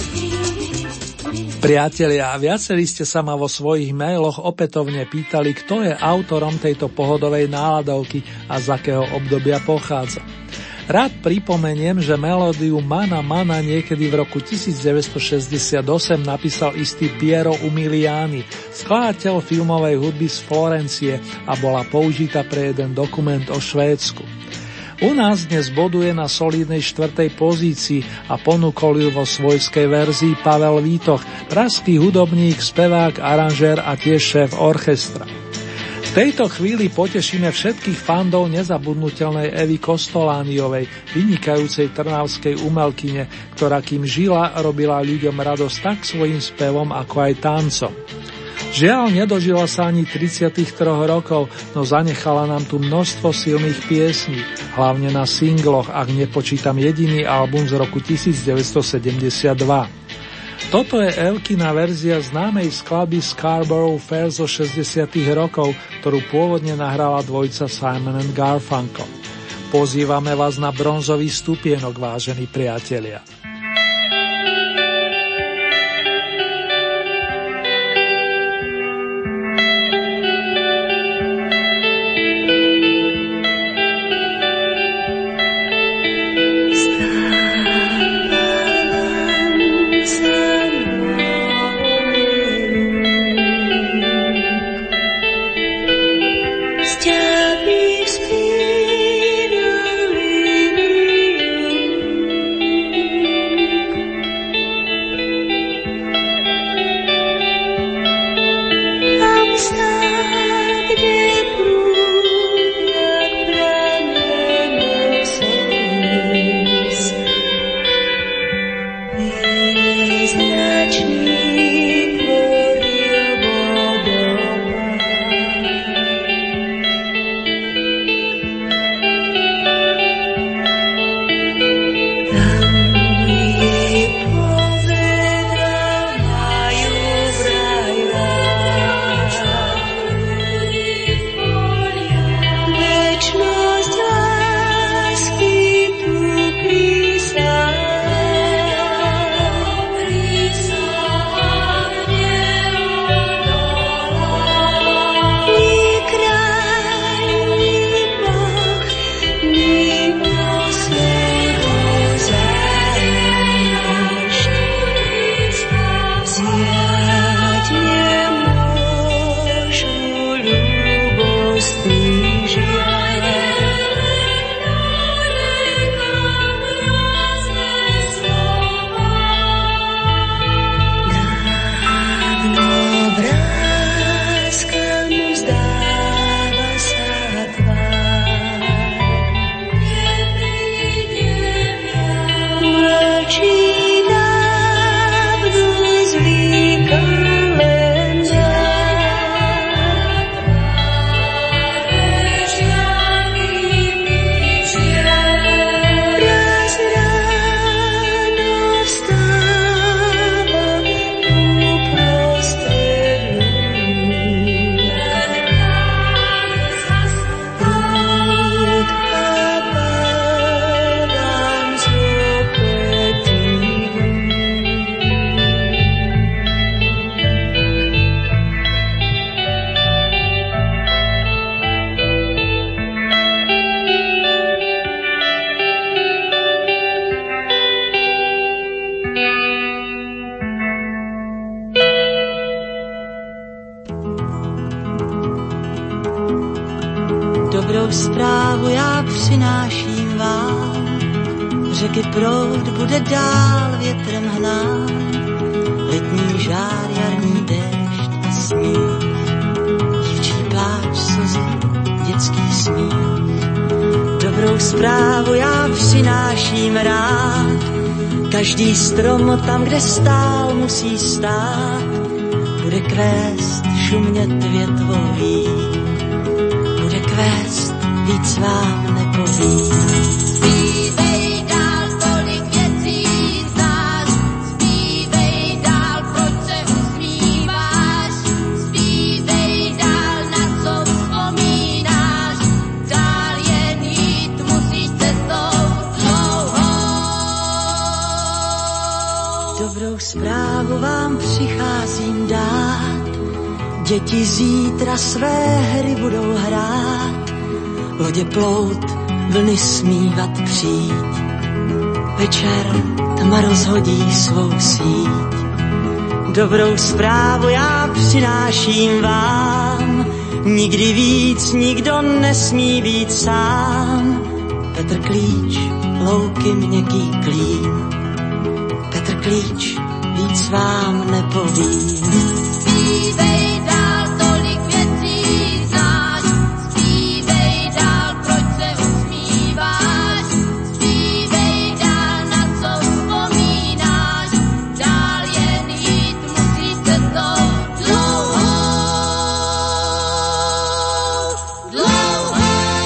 Priatelia, viacerí ste sa ma vo svojich mailoch opätovne pýtali, kto je autorom tejto pohodovej náladovky a z akého obdobia pochádza. Rád pripomeniem, že melódiu Mana Mana niekedy v roku devätnásťstošesťdesiatosem napísal istý Piero Umiliani, skladateľ filmovej hudby z Florencie, a bola použitá pre jeden dokument o Švédsku. U nás dnes boduje na solidnej štvrtej pozícii a ponúkol ju vo svojskej verzii Pavel Vítoch, pražský hudobník, spevák, aranžér a tiež šéf orchestra. V tejto chvíli potešíme všetkých fandov nezabudnutelnej Evy Kostolániovej, vynikajúcej trnavskej umelkyne, ktorá kým žila, robila ľuďom radosť tak svojím spevom, ako aj tancom. Žiaľ, nedožila sa ani tridsiatich troch rokov, no zanechala nám tu množstvo silných piesní, hlavne na singloch, ak nepočítam jediný album z roku devätnásťstosedemdesiatdva. Toto je Evkina verzia známej skladby Scarborough Fair zo šesťdesiatych rokov, ktorú pôvodne nahrala dvojica Simon and Garfunkel. Pozývame vás na bronzový stupienok, vážení priatelia. Dobrou zprávu já přináším vám, řeky proud bude dál větrem hnát, letní žár, jarní déšť a sníh, dívčí pláč, slzy, dětský smích. Dobrou zprávu já přináším rád, Každý strom tam, kde stál, musí stát. Bude kvést šumět větvový, bude kvést, víc vám nepovím. Zpívej dál, tolik věcí znáš, zpívej dál, proč se usmíváš, zpívej dál, na co vzpomínáš, dál jen jít musíš cestou dlouhou. Dobrou zprávu vám přicházím dát, děti zítra své hry budou hrát, lodě plout, vlny smívat přijít. Večer tma rozhodí svou síť. Dobrou zprávu já přináším vám, nikdy víc nikdo nesmí být sám. Petr Klíč, louky měkký klín, Petr Klíč, víc vám nepovím. Zpívej dál, tolik věcí znáš, zpívej dál, proč se usmíváš, zpívej dál, na co vzpomínáš, dál jen jít musíš cestou dlouhou, dlouhou.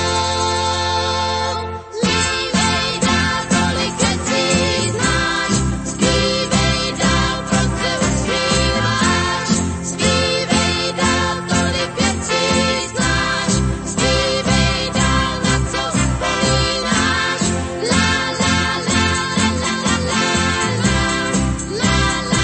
Zpívej dál, tolik věcí znáš, zpívej dál, proč se usmíváš, zpívej dál, tolik věcí znáš, zpívej dál, na co vzpomínáš. La la la la la la la la la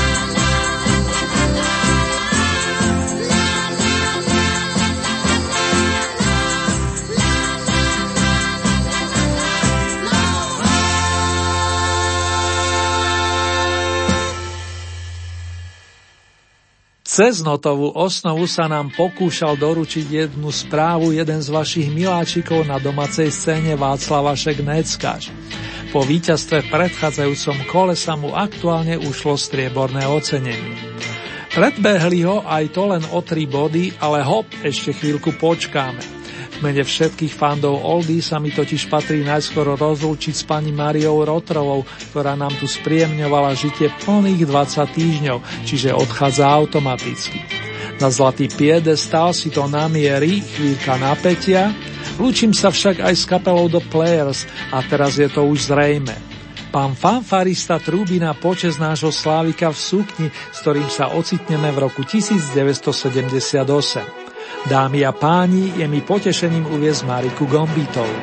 Cez notovú osnovu sa nám pokúšal doručiť jednu správu jeden z vašich miláčikov na domácej scéne Václav Vašek Neckáč. Po víťazstve v predchádzajúcom kole sa mu aktuálne ušlo strieborné ocenenie. Predbehli ho aj to len o tri body, ale hop, ešte chvíľku počkáme. V mene všetkých fandov Oldy sa mi totiž patrí najskôr rozlúčiť s pani Máriou Rotrovou, ktorá nám tu spríjemňovala žitie plných dvadsať týždňov, čiže odchádza automaticky. Na zlatý piedestál si to namierí, chvíľka napätia. Lúčim sa však aj s kapelou The Players a teraz je to už zrejme. Pán fanfarista trúbi na počesť nášho Slávika v sukni, s ktorým sa ocitneme v roku devätnásťsedemdesiatosem. Dámy a páni, je mi potešením uviesť Mariku Gombitovú.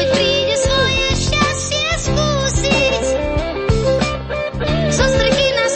Zo strky na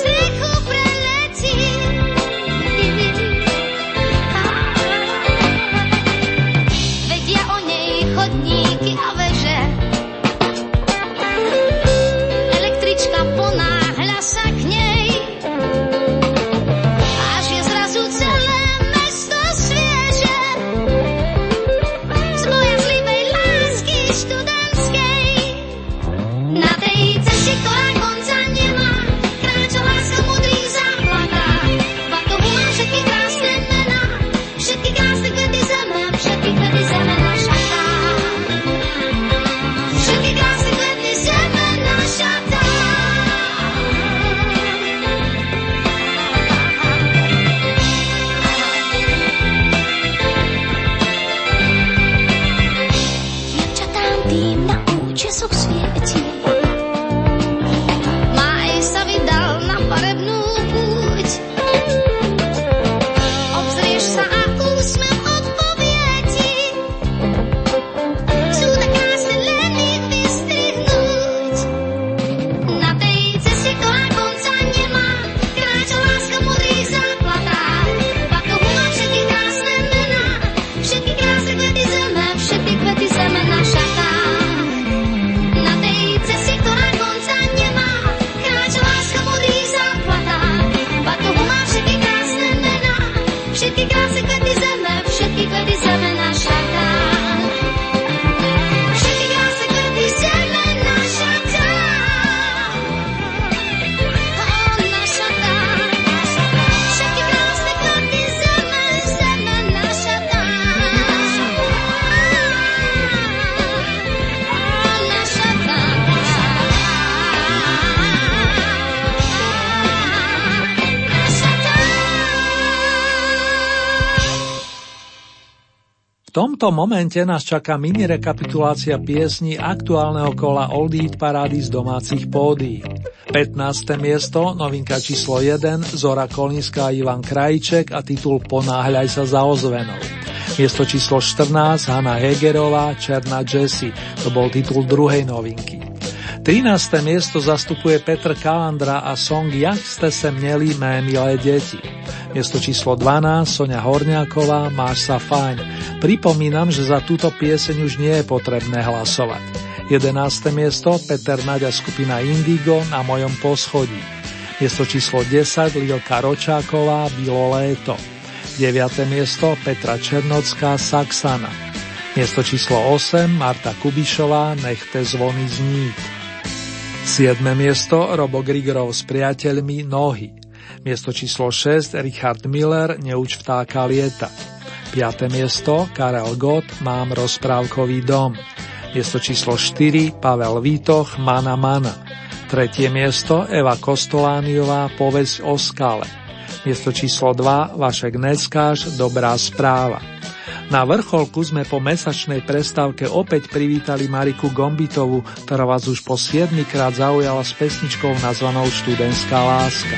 tomto momente nás čaká mini rekapitulácia piesní aktuálneho kola Oldie parády z domácich pódií. pätnáste miesto, novinka číslo jeden, Zora Kolínska a Ivan Krajček a titul Ponáhľaj sa za ozvenou. Miesto číslo štrnásť, Hanna Hegerová, Černá Jessie, to bol titul druhej novinky. trináste miesto zastupuje Petr Kalandra a song Jak ste se měli, mé milé deti. Miesto číslo dvanásť, Soňa Horňáková, Máš sa fajn. Pripomínam, že za túto pieseň už nie je potrebné hlasovať. jedenáste miesto, Peter Naď a skupina Indigo, Na mojom poschodí. Miesto číslo desať, Lilka Ročáková, Bylo léto. deviate miesto, Petra Černocká, Saxana. Miesto číslo osem, Marta Kubišová, Nechte zvony znít. siedme miesto, Robo Grigorov s priateľmi, Nohy. Miesto číslo šesť, Richard Miller, Neuč vtáka lieta. piate miesto, Karel Gott, Mám rozprávkový dom. Miesto číslo štyri, Pavel Vítoch, Mana Mana. tretie miesto, Eva Kostolániová, Povesť o skale. Miesto číslo dva, Vašek Neckáš, Dobrá správa. Na vrcholku sme po mesačnej prestávke opäť privítali Mariku Gombitovú, ktorá vás už po siedmikrát zaujala s pesničkou nazvanou Študentská láska.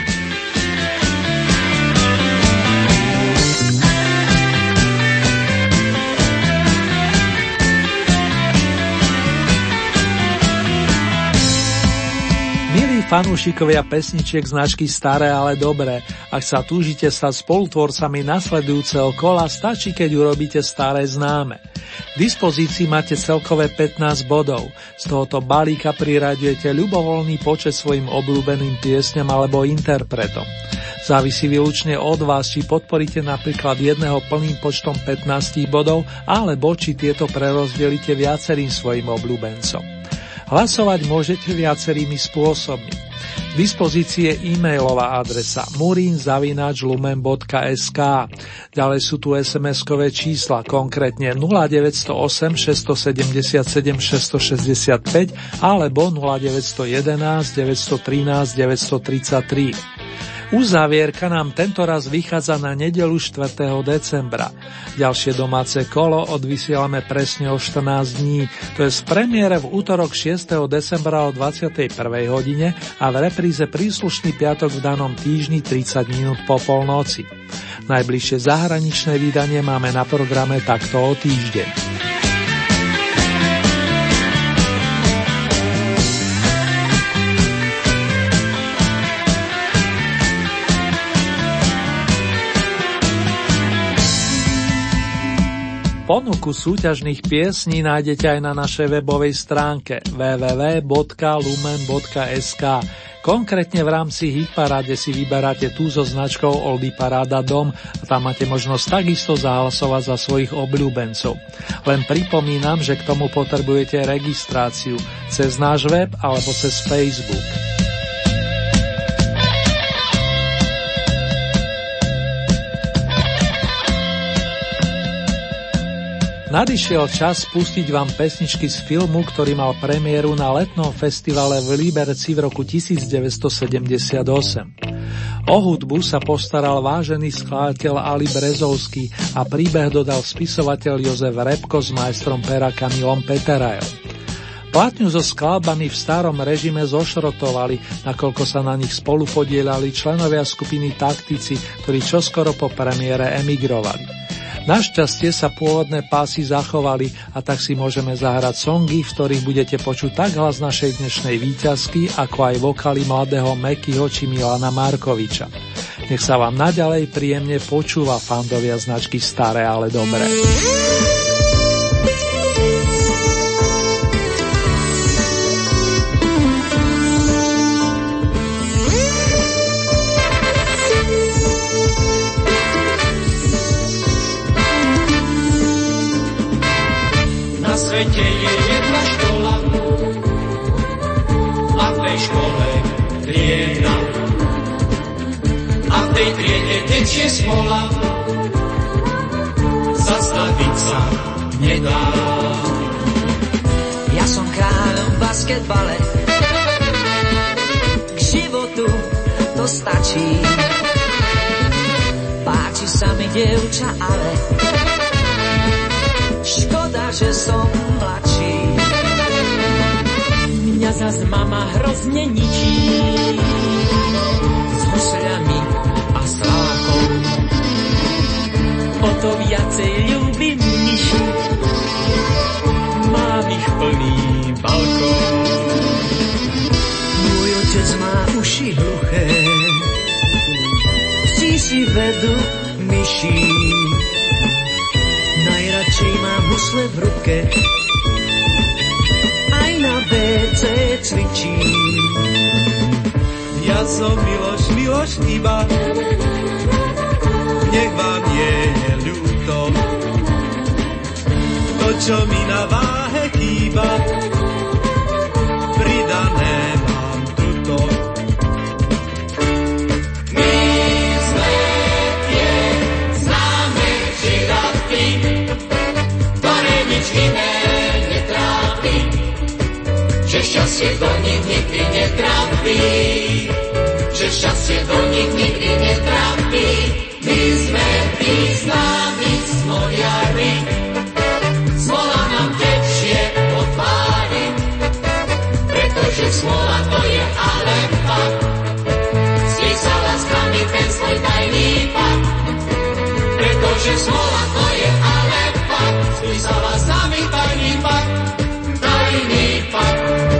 Fanúšikovia pesničiek značky Staré, ale dobré. Ak sa túžite stať spolutvorcami nasledujúceho kola, stačí, keď urobíte staré známe. K dispozícii máte celkové pätnásť bodov. Z tohoto balíka priraďujete ľubovoľný počet svojim obľúbeným piesňam alebo interpretom. Závisí výlučne od vás, či podporíte napríklad jedného plným počtom pätnásť bodov, alebo či tieto prerozdelíte viacerým svojim obľúbencom. Hlasovať môžete viacerými spôsobmi. K dispozícii je e-mailová adresa murin zavináč lumen bodka es ká. Ďalej sú tu es em eskové čísla, konkrétne nula deväť nula osem šesť sedem sedem šesť šesť päť alebo nula deväť jeden jedna deväť jedna tri deväť tri tri. Uzávierka nám tentoraz vychádza na nedeľu štvrtého decembra. Ďalšie domáce kolo odvysielame presne o štrnásť dní, to je z premiére v útorok šiesteho decembra o dvadsiatej prvej hodine a v repríze príslušný piatok v danom týždni tridsať minút po polnoci. Najbližšie zahraničné vydanie máme na programe takto o týždeň. Ponuku súťažných piesní nájdete aj na našej webovej stránke w w w bodka lumen bodka es ká. Konkrétne v rámci Hitparáde si vyberáte tú so značkou Oldie Paráda Dom a tam máte možnosť takisto zahlasovať za svojich obľúbencov. Len pripomínam, že k tomu potrebujete registráciu cez náš web alebo cez Facebook. Nadišiel čas pustiť vám pesničky z filmu, ktorý mal premiéru na letnom festivale v Liberci v roku devätnásťsedemdesiatosem. O hudbu sa postaral vážený skladateľ Ali Brezovský a príbeh dodal spisovateľ Jozef Repko s majstrom pera Kamilom Peterajom. Platňu so skladbami v starom režime zošrotovali, nakoľko sa na nich spolupodielali členovia skupiny Taktici, ktorí čoskoro po premiére emigrovali. Našťastie sa pôvodné pásy zachovali a tak si môžeme zahrať songy, v ktorých budete počuť tak hlas našej dnešnej víťazky, ako aj vokály mladého Mekyho či Milana Markoviča. Nech sa vám naďalej príjemne počúva, fandovia značky Staré, ale dobré. Je jedna škola a v tej škole trieda a v tej triede tečie smola, zastaviť sa nedá. Ja som kráľom v basketbale, k životu to stačí. Páči sa mi dievča, ale škoda, že som mladší. Mňa zas mama hrozne ničí s husľami a slákom. O to viacej ľúbim myši, mám ich plný balkón. Môj otec má uši hluché, si vedú myší. Najradšej mám husle v ruke, aj na bé cé cvičí. Ja som Miloš, Miloš iba, nech vám je ľúto. To, čo mi na váhe chýba, pridané mám tuto. Šťastie do nich nikdy netrápí, že šťastie do nich nikdy netrápí. My sme tí známi smoliari, smola nám tečie po tvári, pretože smola to je ale fakt. Spísala s nami ten svoj tajný fakt, pretože smola to je ale fakt. Spísala s nami tajný fakt, tajný fakt.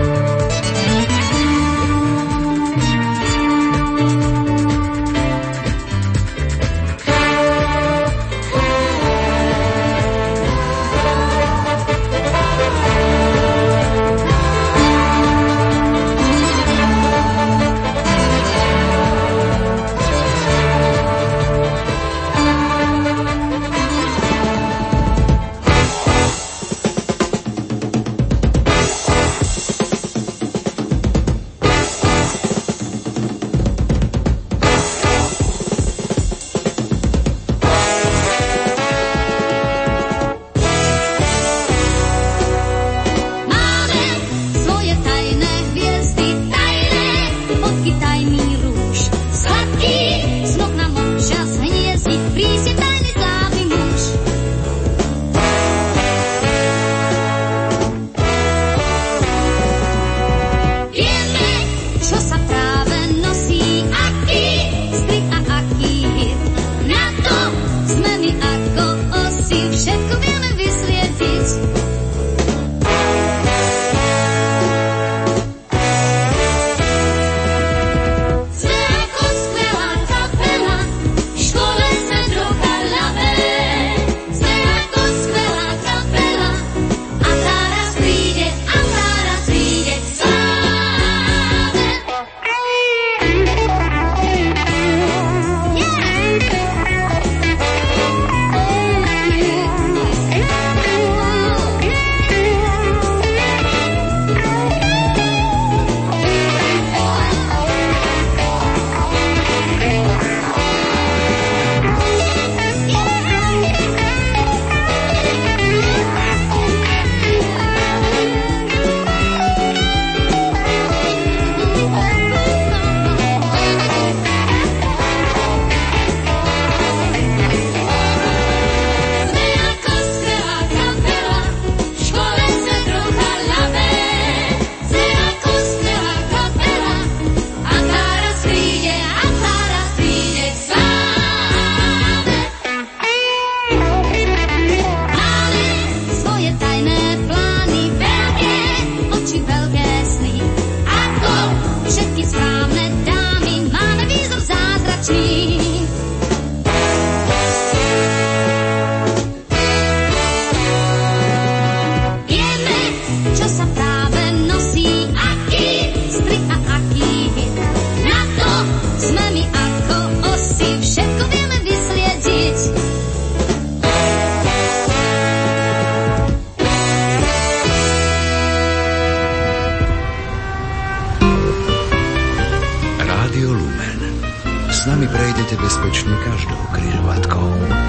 bezpečne každou križovatkou.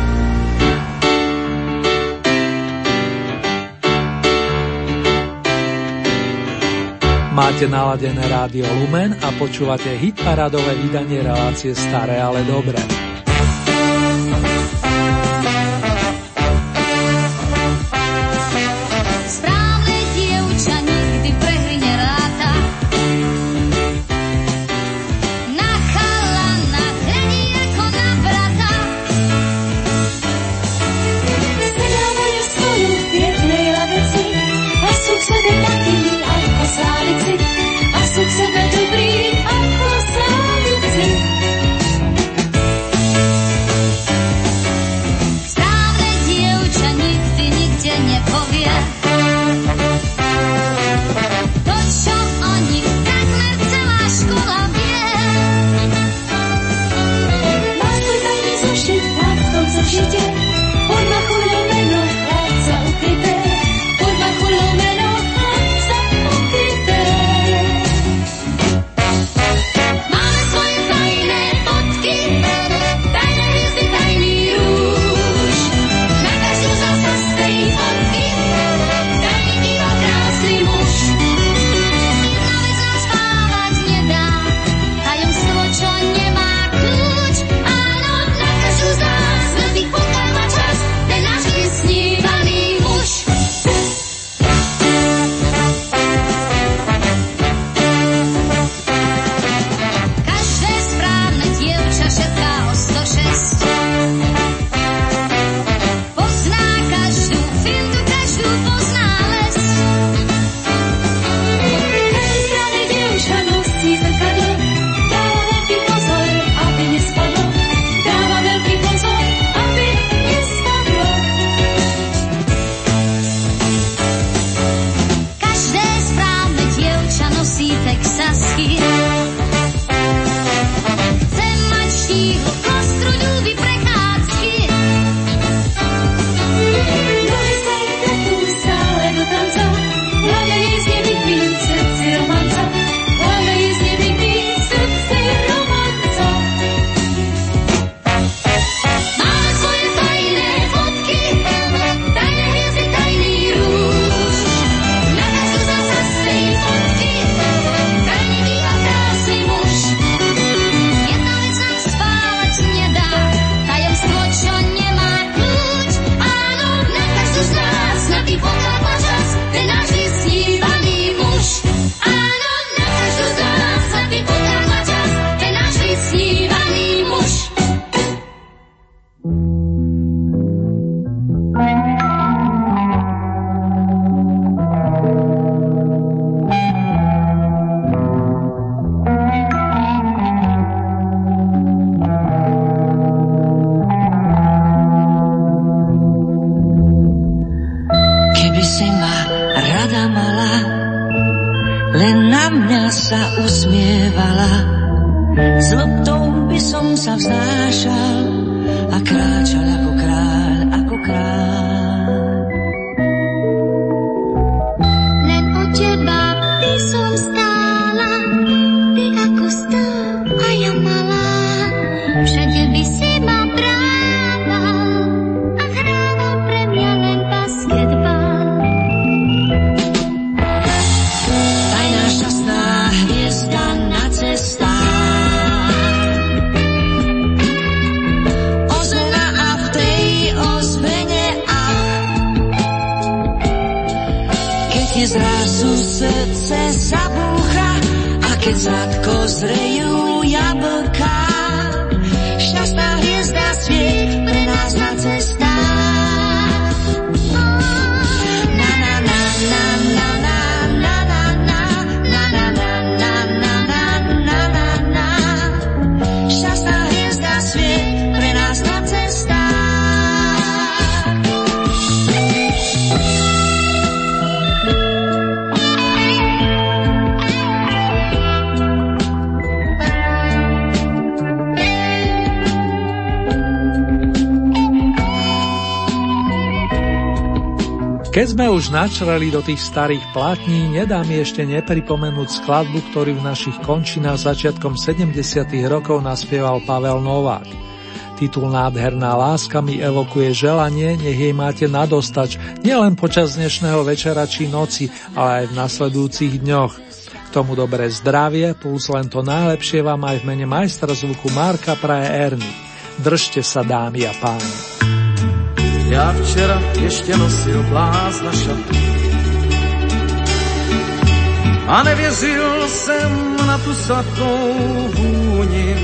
Máte naladené rádio Lumen a počúvate hitparádové vydanie relácie Staré, ale dobré. okamžitě pod machu lumeno chlapca ukryté, pod machu lumeno chlapca ukryté. Máme svoje tajné fotky, tajné hvězdy, tajný růž. Na každú zasa z tej fotky tajný býva krásny muž. Jedna vec nás spávať nedá, tajomstvo, čo nemá kľúč. Áno, na každú z nás na tých fotkách má čas ten náš vysnívaný muž. Každé správne dievča šepká o sto šesť. Pozná každú fintu, každú pozná les. Každé správne dievča nosí zrkadlo, dáva veľký pozor, aby nespadlo. Dáva veľký pozor, aby nespadlo. Každé správne dievča nosí texasky. Chce mať štíhlo, kostru, ľúbi prechádzky. Nohy sa jej pletú stále do tanca, hlavne jej znie pekný v srdci romanca, hlavne jej znie pekný v srdci romanca. Máme svoje tajné fotky, tajné hviezdy, tajný rúž. Na každú zasa z tej fotky tajný býva krásny muž. Jedna vec nám spávať nedá, tajomstvo, čo nemá kľúč. Áno, na každú z nás na tých fotkách má čas ten náš vysnívaný muž. Áno, na každú z nás na tých fotkách má čas ten náš vysnívaný muž. Keby si ma rada mala, len na mňa sa usmievala, s loptou by som sa vznášal a kráčal ako kráľ, ako kráľ. Len o teba by som stála, ty ako stĺp a ja malá. Všade by si ma brával a hrával pre mňa len basketbal. Tajná šťastná hviezda na cestách, ozvena a v tej ozvene ach. Keď ti zrazu srdce zabúcha a keď sladko zrejú jablká, šťastná hviezda sviet pre nás na cestách. Na na na na na na na na na na na na na na na na na. Šťastná hviezda sviet pre nás na cestách. Keď sme už načreli do tých starých plátní, nedá mi ešte nepripomenúť skladbu, ktorú v našich končinách začiatkom sedemdesiatych rokov naspieval Pavel Novák. Titul Nádherná láska mi evokuje želanie, nech jej máte nadostač, nielen počas dnešného večera či noci, ale aj v nasledujúcich dňoch. K tomu dobré zdravie, plus len to najlepšie vám aj v mene majstra zvuku Marka praje Erny. Držte sa, dámy a páni. Já včera ještě nosil blázna šaty a nevěřil jsem na tu sladkou vůni.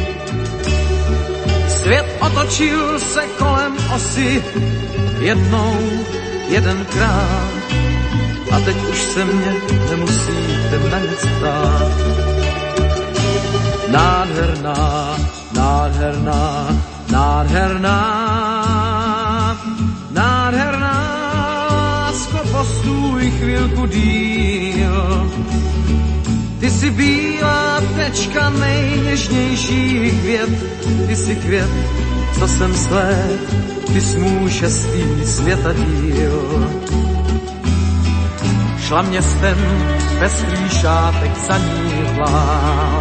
Svět otočil se kolem osy jednou, jedenkrát a teď už se mě nemusíte na nic ptát. Nádherná, nádherná, nádherná, nádherná lásko, postůj chvilku díl. Ty jsi bílá tečka nejněžnějších květ, ty jsi květ, co jsem sled, ty jsi můj šestý světadíl. Šla městem, pestrý šátek za ní plál.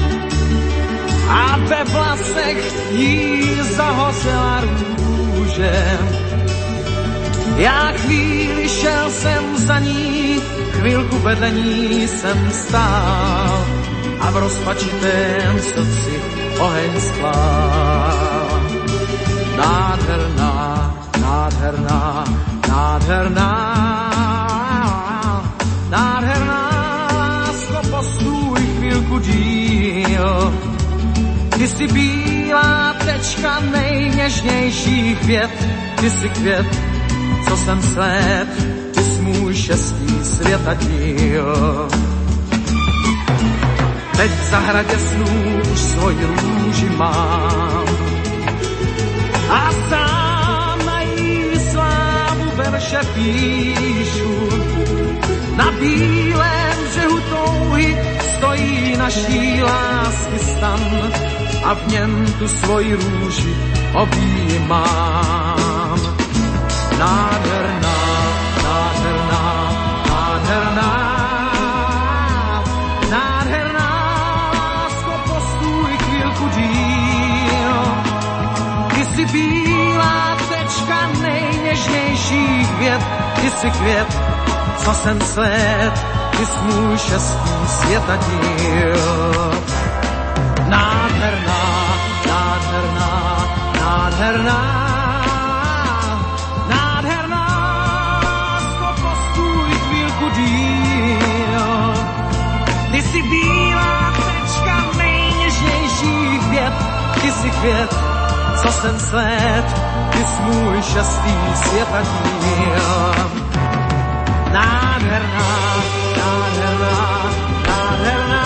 A ve vlasech jí zahořela růže. Já chvíli šel jsem za ní, chvilku vedle ní jsem stál a v rozpačitém srdci oheň sklál. Nádherná, nádherná, nádherná, nádherná, lásko, postůj chvilku díl. Ty jsi bílá tečka nejněžnějších květ, ty jsi květ, co jsem sled, ty jsi můj šestý světadíl. Teď v zahradě snů už svoji růži mám a sám na jí slávu verše píšu. Na bílém břehu touhy stojí naší lásky stan a v něm tu svoji růži objímám. Nádherná, nádherná, nádherná, nádherná, lásko, postůj chvílku díl. Ty jsi bílá tečka nejněžnějších květ, ty jsi květ, co jsem sled, ty jsi můj šestý světadíl. Nádherná, nádherná, nádherná, nádherná, lásko, postůj chvílku díl. Ty jsi bílá tečka nejněžnějších květ, ty jsi květ, co jsem sled, ty jsi můj šestý světadíl. Nádherná, nádherná, nádherná,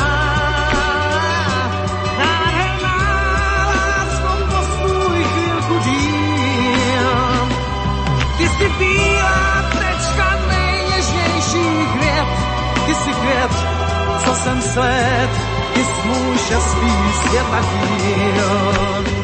nádherná, lásko, postůj chvílku díl. Ty jsi bílá tečka nejněžnějších květ, ty jsi květ, co jsem sled, ty jsi můj šestý světadíl.